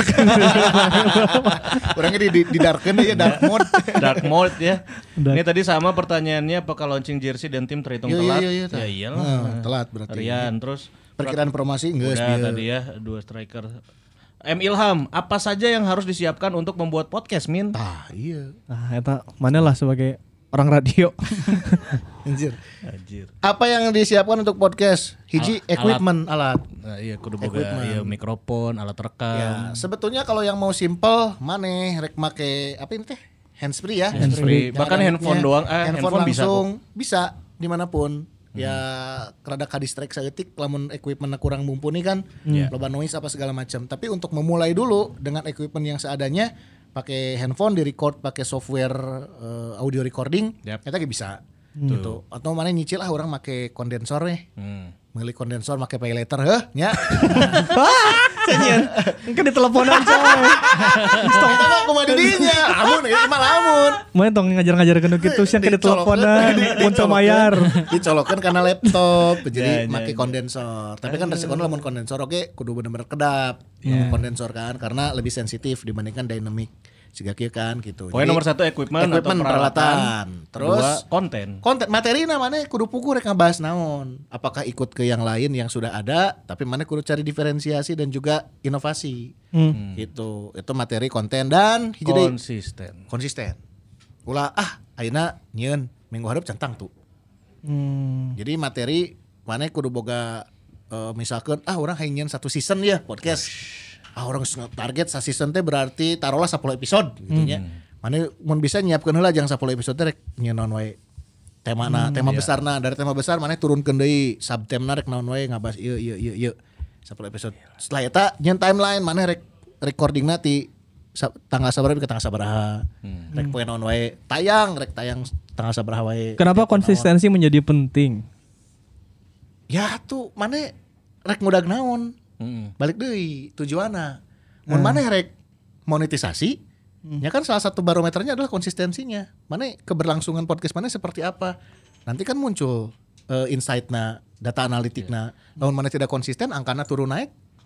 Orangnya di di, di darken ya dark mode. Dark mode ya. Dark. Ini tadi sama pertanyaannya apakah launching jersey dan tim terhitung Iya, iya, telat? iya, iya, ya iyalah. Nah, telat berarti. Rian terus Perkiraan promosi enggak udah tadi ya dua striker. M Ilham, apa saja yang harus disiapkan untuk membuat podcast, Min? Ah, iya. Nah, eta mana lah sebagai orang radio. Anjir. Anjir. Apa yang disiapkan untuk podcast? Hiji Al- equipment alat. Nah, iya kudu boga Equipment. iya mikrofon, alat rekam. Ya, sebetulnya kalau yang mau simple, maneh rek make apa ini teh? Handsfree ya. Handsfree. Ya, Bahkan ada handphone mic-nya. doang, eh, handphone bisa langsung bisa dimanapun. Ya rada kadistrek saeutik lamun equipmentnya kurang mumpuni kan, Iya. loba noise apa segala macam. Tapi untuk memulai dulu dengan equipment yang seadanya, pakai handphone di record pakai software eh, audio recording, Yap. kita bisa gitu. Atau mana nyicil lah orang pakai kondensor nih. Hmm. Milih kondensor pakai pay later heh nya. Cenyen. Engke diteleponan coy. Kita mah kumaha di dinya. Lamun ieu mah lamun. Mana tong ngajar-ngajar kenu kitu siang ke diteleponan untuk mayar. Dicolokeun karena laptop Ya, jadi ya, make ya. kondensor. Tapi kan resikonya lamun kondensor oke kudu bener-bener kedap. Ya. Kondensor kan karena lebih sensitif dibandingkan dynamic. Siga kieu kan gitu. Pokoknya Jadi, nomor satu equipment, equipment atau peralatan. peralatan. Terus Kedua, konten. konten materi namanya kudu puku rek ngabahas naon. Apakah ikut ke yang lain yang sudah ada tapi mana kudu cari diferensiasi dan juga inovasi. Hmm. Gitu. Itu materi konten dan hiji deui, Konsisten. konsisten. Ulah ah ayeuna nyieun minggu hareup centang tuh. Hmm. Jadi materi mana kudu boga eh, misalkan ah orang hayang satu season ya podcast. Ah orang target sa season teh berarti taruhlah sepuluh episode gitu nya. Mana mun bisa nyiapkeun heula jangan sepuluh episode teh rek nyeun wae. Temana, tema besarna dari tema besar mana turunkeun deui subtemna rek naon wae ngabahas ieu ieu ieu ieu. sepuluh episode. Setelah eta nyeun timeline mana rek recordingna ti sa- tanggal sabaraha ke tanggal sabaraha. Rek poe naon wae tayang rek tayang tanggal sabaraha wae. Kenapa konsistensi menjadi penting? Ya tuh mana rek ngudag naon. Mm-mm. Balik deui tujuanna. Mun maneh rek monetisasi, ya kan salah satu barometernya adalah konsistensinya. Mana keberlangsungan podcast mana seperti apa? Nanti kan muncul uh, insight-na, data analitikna. Namun mana tidak konsisten, angkana turun naik,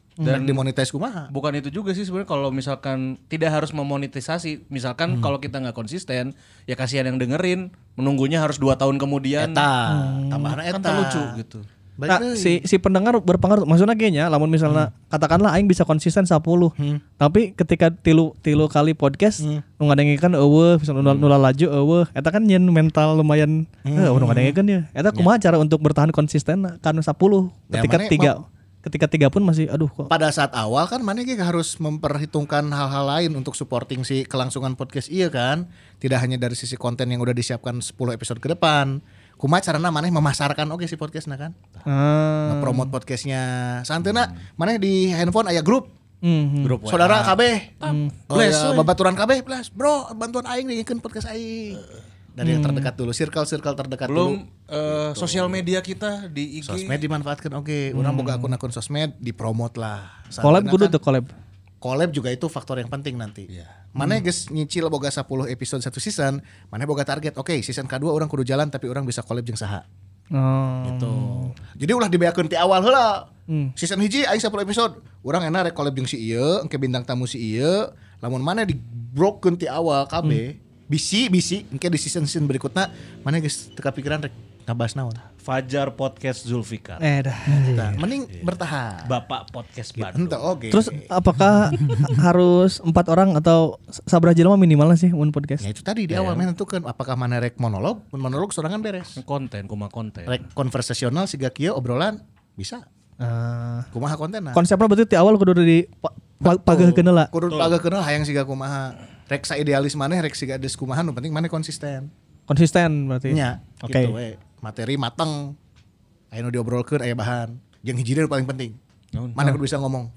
Dan dimonetize kumaha. Bukan itu juga sih sebenarnya kalau misalkan tidak harus memonetisasi, misalkan Hmm. kalau kita nggak konsisten, ya kasihan yang dengerin, menunggunya harus dua tahun kemudian. Eta, tambahan eta. Kan terlucu gitu. Balik Nah, deui. si si pendengar berpengaruh. Maksudnya kayaknya lamun misalnya katakanlah aing bisa konsisten sepuluh. Tapi ketika tilu tilu kali podcast nu ngadengikeun eueuh, misalnya nula, nula laju eueuh, eta kan nyen mental lumayan heuh nu ngadengikeun ya. Eta kumaha cara untuk bertahan konsisten karena sepuluh Ya, ketika mana tiga ketika tiga pun masih aduh kok. Pada saat awal kan mana ge harus memperhitungkan hal-hal lain untuk supporting si kelangsungan podcast iya kan. Tidak hanya dari sisi konten yang udah disiapkan sepuluh episode ke depan. Kumaha carana maneh memasarkan oke si podcastna kan. Ah. Nge-promote podcastnya. Santeuna maneh di handphone aya grup. Hmm. Grup Saudara K B. Bless, Oh, ya, we. babaturan K B, bless. Bro, bantuan aing bikin podcast aing. Dari yang terdekat dulu, circle-circle terdekat Belum dulu. eh, sosial media kita di I G. Sosmed dimanfaatkan oke. Orang boga akun-akun sosmed dipromot lah. Collab Santeuna kudu kan- tuh collab. Collab juga itu faktor yang penting nanti. Mana geus nyicil boga sepuluh episode satu season, mana boga target. Oke, season kedua orang kudu jalan tapi orang bisa collab jeung saha. Oh. Gitu. Jadi ulah dibeakeun ti awal heula. Hmm. Season hiji aing sepuluh episode. Urang enak rek collab jeung si ieu, engke bintang tamu si ieu. Lamun mana di brokeun ti awal K B, bisi bisi engke di season-season berikutna mana geus teu kapikiran rek ngabahas naon. Fajar Podcast Zulfikar. Eh dah. Tah, mending bertahan. Bapak Podcast Bandung. Henteu oke. Terus apakah harus empat orang atau sabaraha jelema minimalnya sih mun podcast? Ya itu tadi di awal menentukan apakah mana rek monolog, mun monolog sorangan beres. Konten, kumaha konten. Rek konversasional siga kieu obrolan bisa. Ah. Kumaha kontenna? Konsepnya berarti ti awal kudu di pa- pa- pageuhkeun heula. Kudu pageukeun hayang siga kumaha. Rek sa idealis maneh rek siga des kumaha nu penting maneh konsisten. Konsisten berarti. Nya, Oke. gitu we. Materi mateng. Aya nu diobrolkeun aya bahan. Jeung hiji nu paling penting. Naon? Mana kudu bisa ngomong.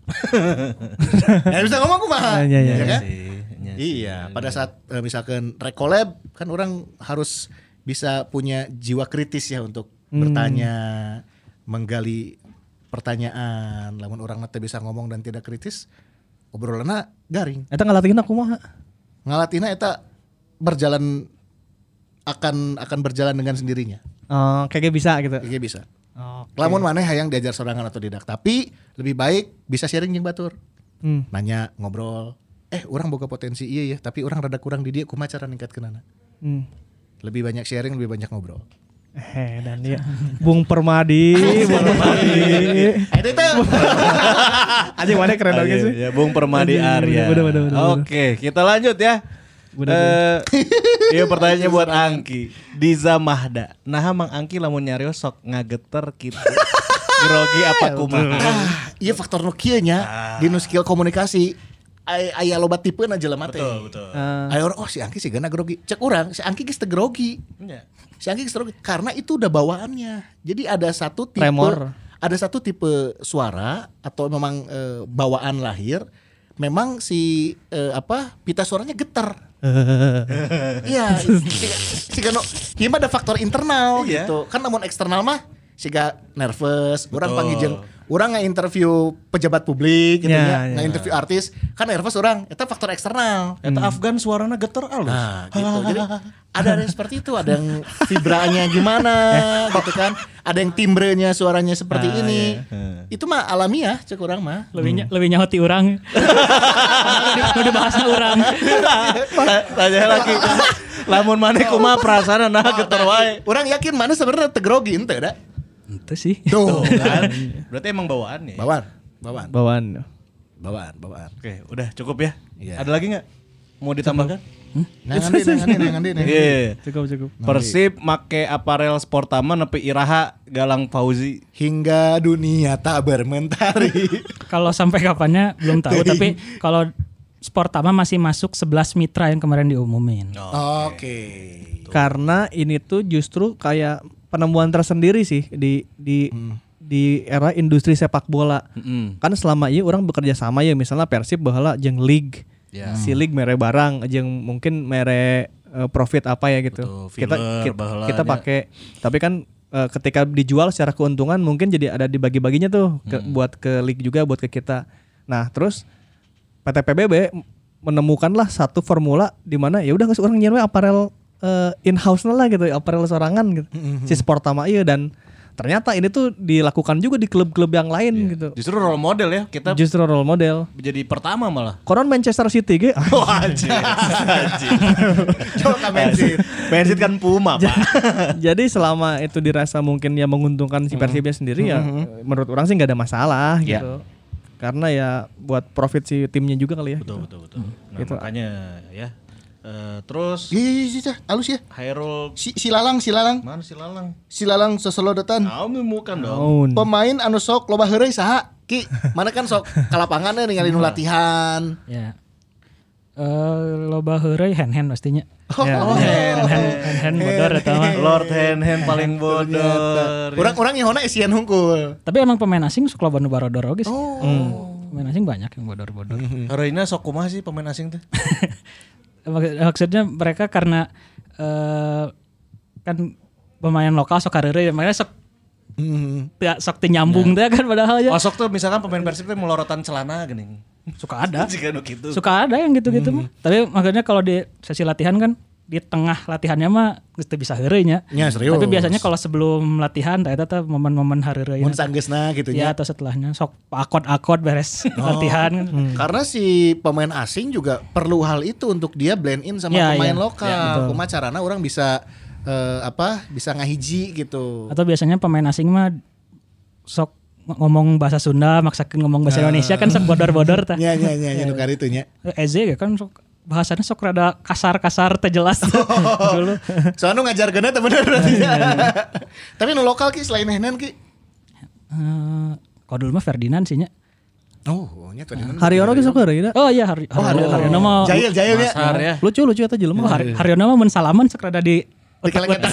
Ya bisa ngomong kumaha. Ya, ya, ya. Ya kan? Sih, nya. Iya, pada saat eh, misalkan rek collab kan orang harus bisa punya jiwa kritis ya untuk bertanya, menggali pertanyaan. Lamun orang nanti bisa ngomong dan tidak kritis, obrolanna garing. Eta ngalatihna kumaha? Ngalatina eta berjalan akan akan berjalan dengan sendirinya. Oh, kayaknya bisa gitu. Kayak bisa. Oh. Lamun maneh hayang diajar sorangan atau tidak, tapi lebih baik bisa sharing jeung batur. Hmm. Nanya, ngobrol. Eh, orang boga potensi iya ya, tapi orang rada kurang di dia kumaha cara ningkatkeunana. Hmm. Lebih banyak sharing, lebih banyak ngobrol. Eh dan dia Bung Permadi, Bung Permadi. Itu itu. Anjing mana keren banget sih. Ya, Bung Permadi Arya. Bener, bener, bener, Oke, kita lanjut ya. Eh, iya pertanyaannya buat Angki. Diza Mahda. Nah, Mang Angki lamun nyarios sok ngageter kitu. Grogi apa kumaha? Ah, iya faktor nu kieu nya di nu skill komunikasi. Aya aya loba tipeuna jelema teh. Betul, betul. Ah. Aya orang oh si Angki sih gana grogi. Cek urang, si Angki geus teu grogi. Iya. Si Angki geus teu grogi karena itu udah bawaannya. Jadi ada satu tipe Tremor. ada satu tipe suara atau memang eh, bawaan lahir memang si eh, apa pita suaranya getar. Iya, siga siga no, ieu mah ada faktor internal Iya. gitu. Kan namun eksternal mah siga nervous, urang Betul. panggil jeung urang nge-interview pejabat publik gitu Ya, nya, ya. nge-interview artis, kan nervous urang, eta faktor eksternal. Eta Afgan suarana geter alus. Nah, gitu. Jadi ada yang seperti itu, ada yang vibranya gimana gitu kan. Ada yang timbrenya suaranya seperti Ah, ini. iya. Itu mah alamiah cek urang mah. Lebih nya- lebih nyaho ti urang. Udah bahasna urang. Tanya lagi. Lamun maneh kumaha perasaana nah geter wae. Urang yakin mana sebenarnya teu grogi henteu da. Itu sih. Tuh kan. Berarti emang bawaannya. Bawaan, bawaan, Bawaan. bawaan, bawaan. Oke, udah cukup ya. Iya. Ada lagi nggak? Mau ditambahkan? Nah, ngandi, nah, ngandi, nah, ngandi, nah, ngandi. Iya. Cukup cukup. Persib make aparel Sportama nepi Iraha Galang Fauzi. Hingga dunia tak bermentari. Kalau sampai kapannya belum tahu, tapi kalau Sportama masih masuk sebelas mitra yang kemarin diumumin. Oke. Karena ini tuh justru kayak penemuan tersendiri sih di di di era industri sepak bola. Mm-mm. Kan selama ini orang bekerja sama ya misalnya Persib baheula jeung league. Ya. Si league mere barang jeung mungkin mere eh, profit apa ya gitu. Betul, kita filler, kita, baheula kita nya. pakai tapi kan eh, ketika dijual secara keuntungan mungkin jadi ada dibagi-baginya tuh ke, buat ke league juga buat ke kita. Nah, terus P T P B B menemukanlah satu formula di mana ya udah geus urang nyeun we aparel uh, in house lah gitu, aparel sorangan gitu. Si Sportama ieu dan ternyata ini tuh dilakukan juga di klub-klub yang lain gitu. Justru role model ya kita Justru role model. jadi pertama malah. Konon Manchester City ge. Wah anjir. Coba Man City. Man City kan Puma, Pak. Jadi selama itu dirasa mungkin ya menguntungkan si Persibnya sendiri ya menurut orang sih nggak ada masalah Ya. gitu. Karena ya buat profit si timnya juga kali ya. Betul betul betul. Nah, Gitu. makanya ya. Eh, terus Iya iya iya, halus ya. Hairul Si Silalang Silalang. mana si Lalang? Silalang Seselodotan. Kamu bukan dong. Naon. Pemain anu sok loba heureuy saha? Ki, mana kan sok ka lapangan ningali nu latihan. Ya. Eh loba heureuy hand-hand pastinya. Ya. Hand-hand hand bodor eta mah. Lord Hand Hand paling bodoh. Urang-urang nyehona isian hungkul. Tapi emang pemain asing suka loba nu barodor oge sih. Pemain asing banyak yang bodor-bodor. Reina sok kumaha sih pemain asing tuh? Mak- Maksudnya mereka karena eh kan pemain lokal sok kareure makanya sok teu sok teu nyambung teh kan padahal ya. Oh sok tuh misalkan pemain Persib tuh melorotan celana geuning. Suka ada. Jika nu kitu. Suka ada yang gitu-gitu mah. Tapi maksudnya kalau di sesi latihan kan di tengah latihannya mah geus teu bisa heureuy nya. Ya, serius. Tapi biasanya kalau sebelum latihan tah eta teh momen-momen hareureuy. Mun sanggeusna gitu Ya nya. atau setelahnya sok akod-akod beres latihan kan. Karena si pemain asing juga perlu hal itu untuk dia blend in sama Ya, pemain ya. lokal. Kumaha carana orang bisa eh, apa? Bisa ngahiji gitu. Atau biasanya pemain asing mah sok ngomong bahasa Sunda maksakeun ngomong bahasa Indonesia kan sok bodor-bodor tah. Nya nya nya nya nu karitu nya. Eze ya kan sok bahasanya sok rada kasar-kasar teh jelas dulu. Soalnya nu ngajar geuna teh bener berarti. Tapi nu lokal ki selain Henan ki. Eh, kalau dulu mah Ferdinand sih nya. Oh, nya tadi mana? Haryono ge sok heureuy da. Oh iya Hari Haryono Haryono mah Jail jail ya. Masar ya. Lucu-lucu eta jelema. Oh, Har- Haryono mah mun salaman sok rada di Dikeleketan.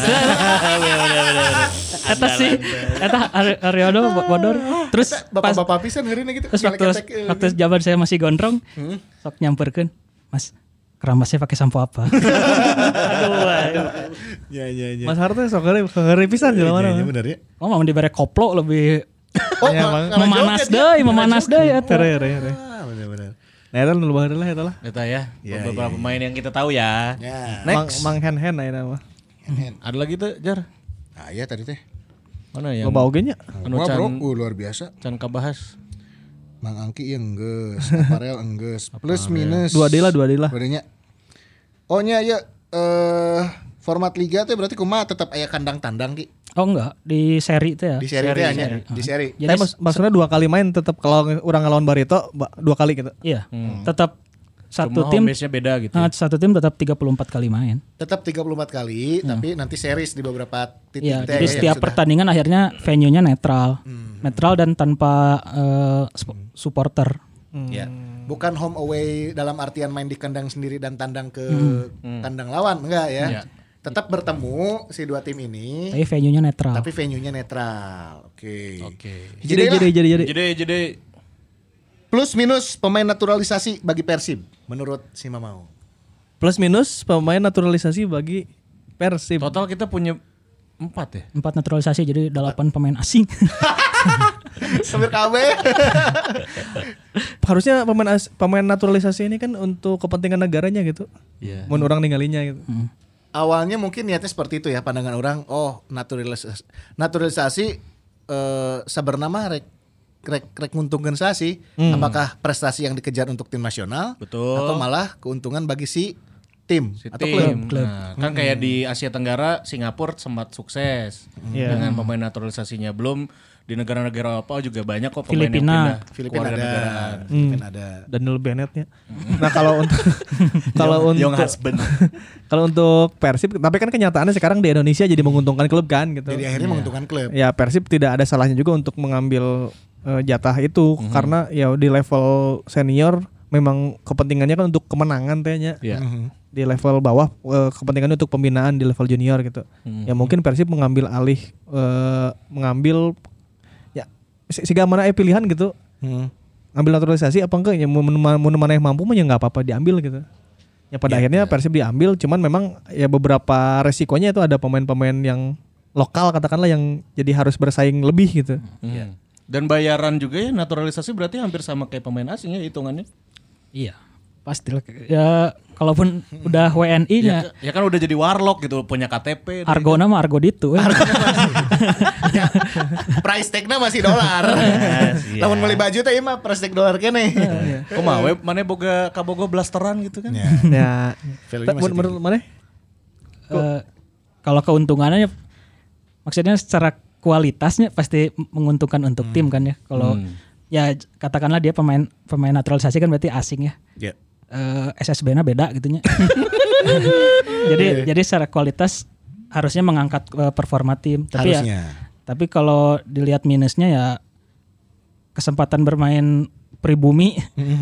Eta sih eta Har- Haryono bo- bodor. Terus pas Bapak-bapak pisan heureuy gitu. terus waktu ngeleketek, eh, waktu zaman saya masih gondrong sok nyamperkeun, Mas kerambasnya pakai sampo apa? Aduh. wae. Ya ya ya. Mas Harto sok heureuy heureuy pisan jelema Iya, iya, mah. bener ya. Oh, mau dibere koplo lebih Oh, Ya, ma- Bang. ngalah memanas joget ya. deui, memanas deui eta. Heureuy heureuy heureuy. Ah, bener-bener. Nah eta nu baheula lah eta lah. Eta ya. Ya, beberapa ya, pemain yang kita tahu ya. Ya. Mang Next. Mang Hen-Hen ayeuna mah. Ada lagi tuh Jar. Ah, iya tadi teh. Mana yang Loba oge nya. anu Wah, bro, can uh, luar biasa. can kabahas. Mang Angki yang enggeus, Aparel enggeus, plus minus. Dua deui lah, dua deui lah. Berenya. Oh nya ya eh format liga teh berarti kumaha tetap aya kandang tandang ki. Oh enggak, di seri itu ya. Di seri teh nya, di seri. Jadi Tapi mas, maksudnya dua kali main tetap kalau orang ngelawan Barito ba- dua kali gitu. iya, tetap satu Cuma tim home base-nya beda gitu. ah, satu tim tetap tiga puluh empat kali main. Tetap tiga puluh empat kali, tapi nanti series di beberapa titik Iya, teh jadi ya, setiap sudah. pertandingan akhirnya venue-nya netral. Netral dan tanpa eh, sp- supporter. Ya. Bukan home away dalam artian main di kandang sendiri dan tandang ke kandang lawan, enggak ya. Iya. Tetap bertemu si dua tim ini, Tapi venue-nya netral. tapi venue-nya netral. Oke. Oke. Jadi jadi jadi jadi. Jadi jadi Plus minus pemain naturalisasi bagi Persib menurut si Mamau. Plus minus pemain naturalisasi bagi Persib. total kita punya empat ya. Empat naturalisasi jadi delapan pemain asing. Sambil K B. Harusnya pemain as- pemain naturalisasi ini kan untuk kepentingan negaranya gitu. Iya. Mun orang ninggalinya gitu. Awalnya mungkin niatnya seperti itu ya pandangan orang. Oh naturalisasi, naturalisasi eh, sebernama rek rek rek nguntungkeun sasi. Apakah prestasi yang dikejar untuk tim nasional? Betul. Atau malah keuntungan bagi si tim Si atau tim. klub? Nah, kan kayak di Asia Tenggara Singapura sempat sukses Iya. dengan pemain naturalisasinya. Belum di negara-negara Eropa juga banyak kok pemain Filipina. yang pindah Filipina ada, kewarganegaraan. Filipina ada. Daniel Bennett-nya. Nah, kalau untuk kalau untuk Young husband. kalau untuk Persib tapi kan kenyataannya sekarang di Indonesia jadi menguntungkan klub kan gitu. Jadi akhirnya menguntungkan klub. Ya Persib tidak ada salahnya juga untuk mengambil eh, jatah itu karena ya di level senior memang kepentingannya kan untuk kemenangan tehnya. Iya. Di level bawah eh, kepentingannya untuk pembinaan di level junior gitu. Ya mungkin Persib mengambil alih eh, mengambil ya si- siga mana eh pilihan gitu. Ambil naturalisasi apa enggak ya mun mun mana yang mampu mah ya enggak apa-apa diambil gitu. Ya pada akhirnya Persib diambil cuman memang ya beberapa resikonya itu ada pemain-pemain yang lokal katakanlah yang jadi harus bersaing lebih gitu. Hmm. Dan bayaran juga ya naturalisasi berarti hampir sama kayak pemain asing ya hitungannya. Iya. Pasti lah. Ya kalaupun udah W N I-nya Ya, ya kan udah jadi warlock gitu punya K T P. Argona mah Argo ditu. eh. Ya, price tag-na masih dolar. Yes, iya. Lamun beli baju teh ieu mah price tag dolar keneh. Kumaha we maneh boga kabogo blasteran gitu kan. Ya. Ya. Value-nya masih Menurut mana? Eh, kalau keuntungannya maksudnya secara kualitasnya pasti menguntungkan untuk tim kan ya. Kalau ya katakanlah dia pemain pemain naturalisasi kan berarti asing ya. Ya. Eh, S S B-nya beda gitunya. jadi jadi secara kualitas harusnya mengangkat eh, performa tim. Tapi Harusnya. ya tapi kalau dilihat minusnya ya kesempatan bermain pribumi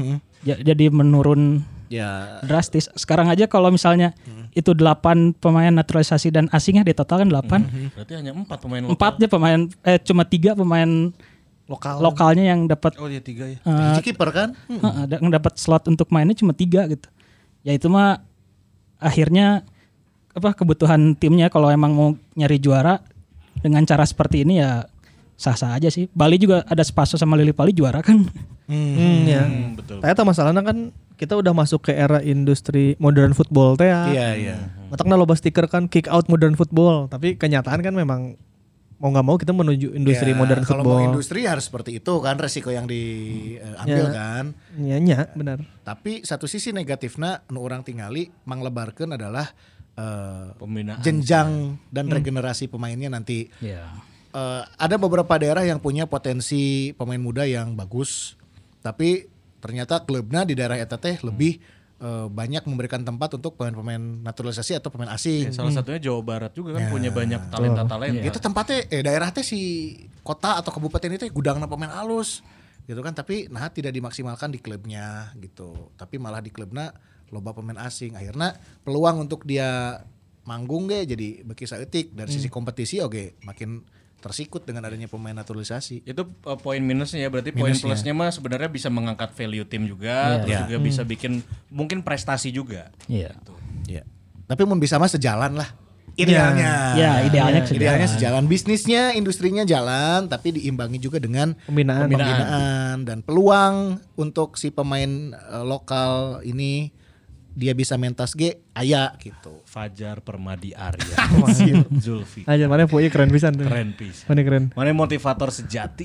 ja- jadi menurun Ya. drastis. Sekarang aja kalau misalnya itu delapan pemain naturalisasi dan asingnya di total kan delapan. Berarti hanya empat pemain lokal. Empatnya pemain eh cuma tiga pemain Lokal. lokalnya yang dapat Oh iya tiga ya. eh, Hiji kiper kan? Heeh, ada- yang dapat slot untuk mainnya cuma tiga gitu. Ya itu mah akhirnya apa kebutuhan timnya kalau emang mau nyari juara dengan cara seperti ini ya sah-sah aja sih. Bali juga ada Spaso sama Lili Pali juara kan. Hmm, ya. Hmm, betul. Tapi masalahnya kan kita udah masuk ke era industri modern football teh ya. Iya, iya. Matakna loba stiker kan kick out modern football, tapi kenyataan kan memang mau nggak mau kita menuju industri Ya, modern kalau football. mau industri harus seperti itu kan resiko yang diambil Ya. kan. Iya, nya, benar. Tapi satu sisi negatifnya nu orang tingali manglebarkeun adalah eh, Pembinaan. jenjang dan regenerasi pemainnya nanti. Iya. Eh, ada beberapa daerah yang punya potensi pemain muda yang bagus, tapi ternyata klubnya di daerah eta teh lebih eh, banyak memberikan tempat untuk pemain-pemain naturalisasi atau pemain asing. Salah satunya Jawa Barat juga kan punya banyak talenta-talenta. Itu tempatnya eh daerah teh si kota atau kabupaten itu gudangna pemain alus gitu kan, tapi nah tidak dimaksimalkan di klubnya gitu. Tapi malah di klubnya loba pemain asing. Akhirnya peluang untuk dia manggung ge jadi beki saeutik dari sisi kompetisi oke makin tersikut dengan adanya pemain naturalisasi. Itu uh, poin minusnya ya, berarti poin Minusnya. plusnya mah sebenarnya bisa mengangkat value tim juga, terus Iya. juga bisa bikin mungkin prestasi juga. Iya. Ya. Tapi mun bisa mah sejalan lah. Idealnya. Ya, idealnya sejalan. Idealnya sejalan, bisnisnya, industrinya jalan, tapi diimbangi juga dengan Pembinaan. pembinaan dan peluang untuk si pemain eh, lokal ini dia bisa mentas G aya gitu. Fajar Permadi Arya, Zulfi, Aja mana punya keren pisan tuh. keren pisan. Mana keren. Mana motivator sejati.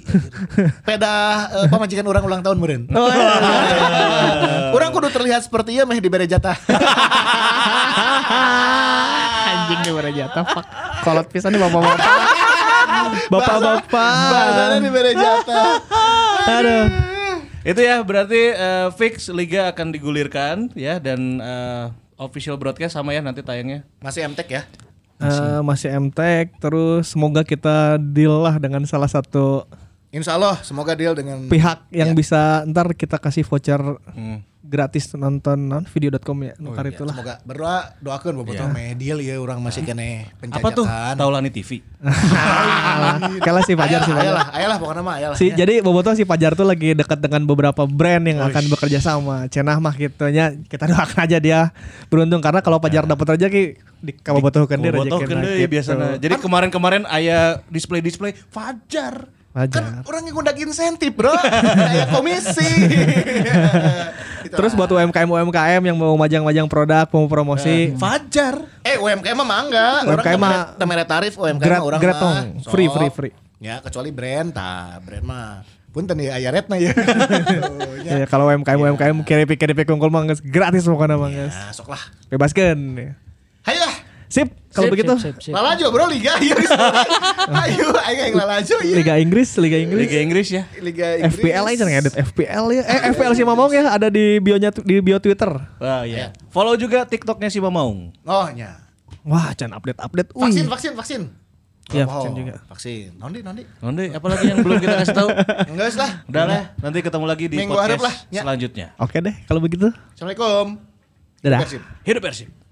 Peda eh, pamajikan orang ulang tahun meureun. Oh, iya. Orang kudu terlihat seperti ieu meh dibere jatah. Anjing nih bara jatah fuck. Kolot pisan nih bapak-bapak. Bapak-bapak. Bahasanya dibere jatah. Aduh. Itu ya berarti uh, fix liga akan digulirkan ya, dan uh, official broadcast sama ya nanti tayangnya. Masih M T E C ya? Eh, masih M Tech, terus semoga kita deal lah dengan salah satu Insya Allah semoga deal dengan pihak yang bisa ntar kita kasih voucher Hmm. gratis nonton non video dot com ya nukar Ya, itulah. semoga berdoa doakeun bobotoh meh deal ya orang masih kene penjajakan. Apa tuh? Taulani T V. Kala si Fajar si Fajar. Ayalah, ayalah pokoknya mah ayalah. Si, jadi Bobotoh si Fajar tuh lagi dekat dengan beberapa brand yang akan bekerja sama. Cenah mah gitunya kita doakan aja dia beruntung karena kalau Fajar dapat rezeki di Bobotoh kan dia Bobotoh rezeki. kan deui biasana. Jadi kemarin-kemarin aya display-display Fajar. Kan Fajar. orang yang ngundak insentif bro. Kayak komisi. Gitu Terus lah. buat U M K M U M K M yang mau majang-majang produk, mau promosi, Fajar. Eh U M K M mah mangga. U M K M mah temere tarif U M K M Grat- mah orang gratong. mah. Free, Sok. free, free. Ya kecuali brand, tah brand mah. Punten ya aya retna ya. ya, kalau U M K M U M K M kiripi kiripi kungkul mah geus gratis pokoknya mah geus. Ya, sok lah. Bebaskeun. Hayolah. Sip, kalau Sip, begitu sip, sip, sip. Lalajo bro liga ieu. Ayo ayo yang lalajo ieu. Liga Inggris, Liga Inggris. Liga Inggris ya. Liga Inggris. F P L aja ngedit F P L ya. Eh F P L si Mamong ya ada di bionya di bio Twitter. Wah ya. Follow juga TikToknya si Mamaung. Oh nya. Wah, can update-update. Wih. Vaksin vaksin vaksin. Iya, Oh, vaksin juga. Vaksin. Nondi nondi. Nanti apalagi yang belum kita kasih tahu. Enggak lah. Udah lah, nanti ketemu lagi di Minggu harap podcast lah, ya. selanjutnya. Oke deh, kalau begitu. Assalamualaikum. Dadah. Persib. Hidup Persib.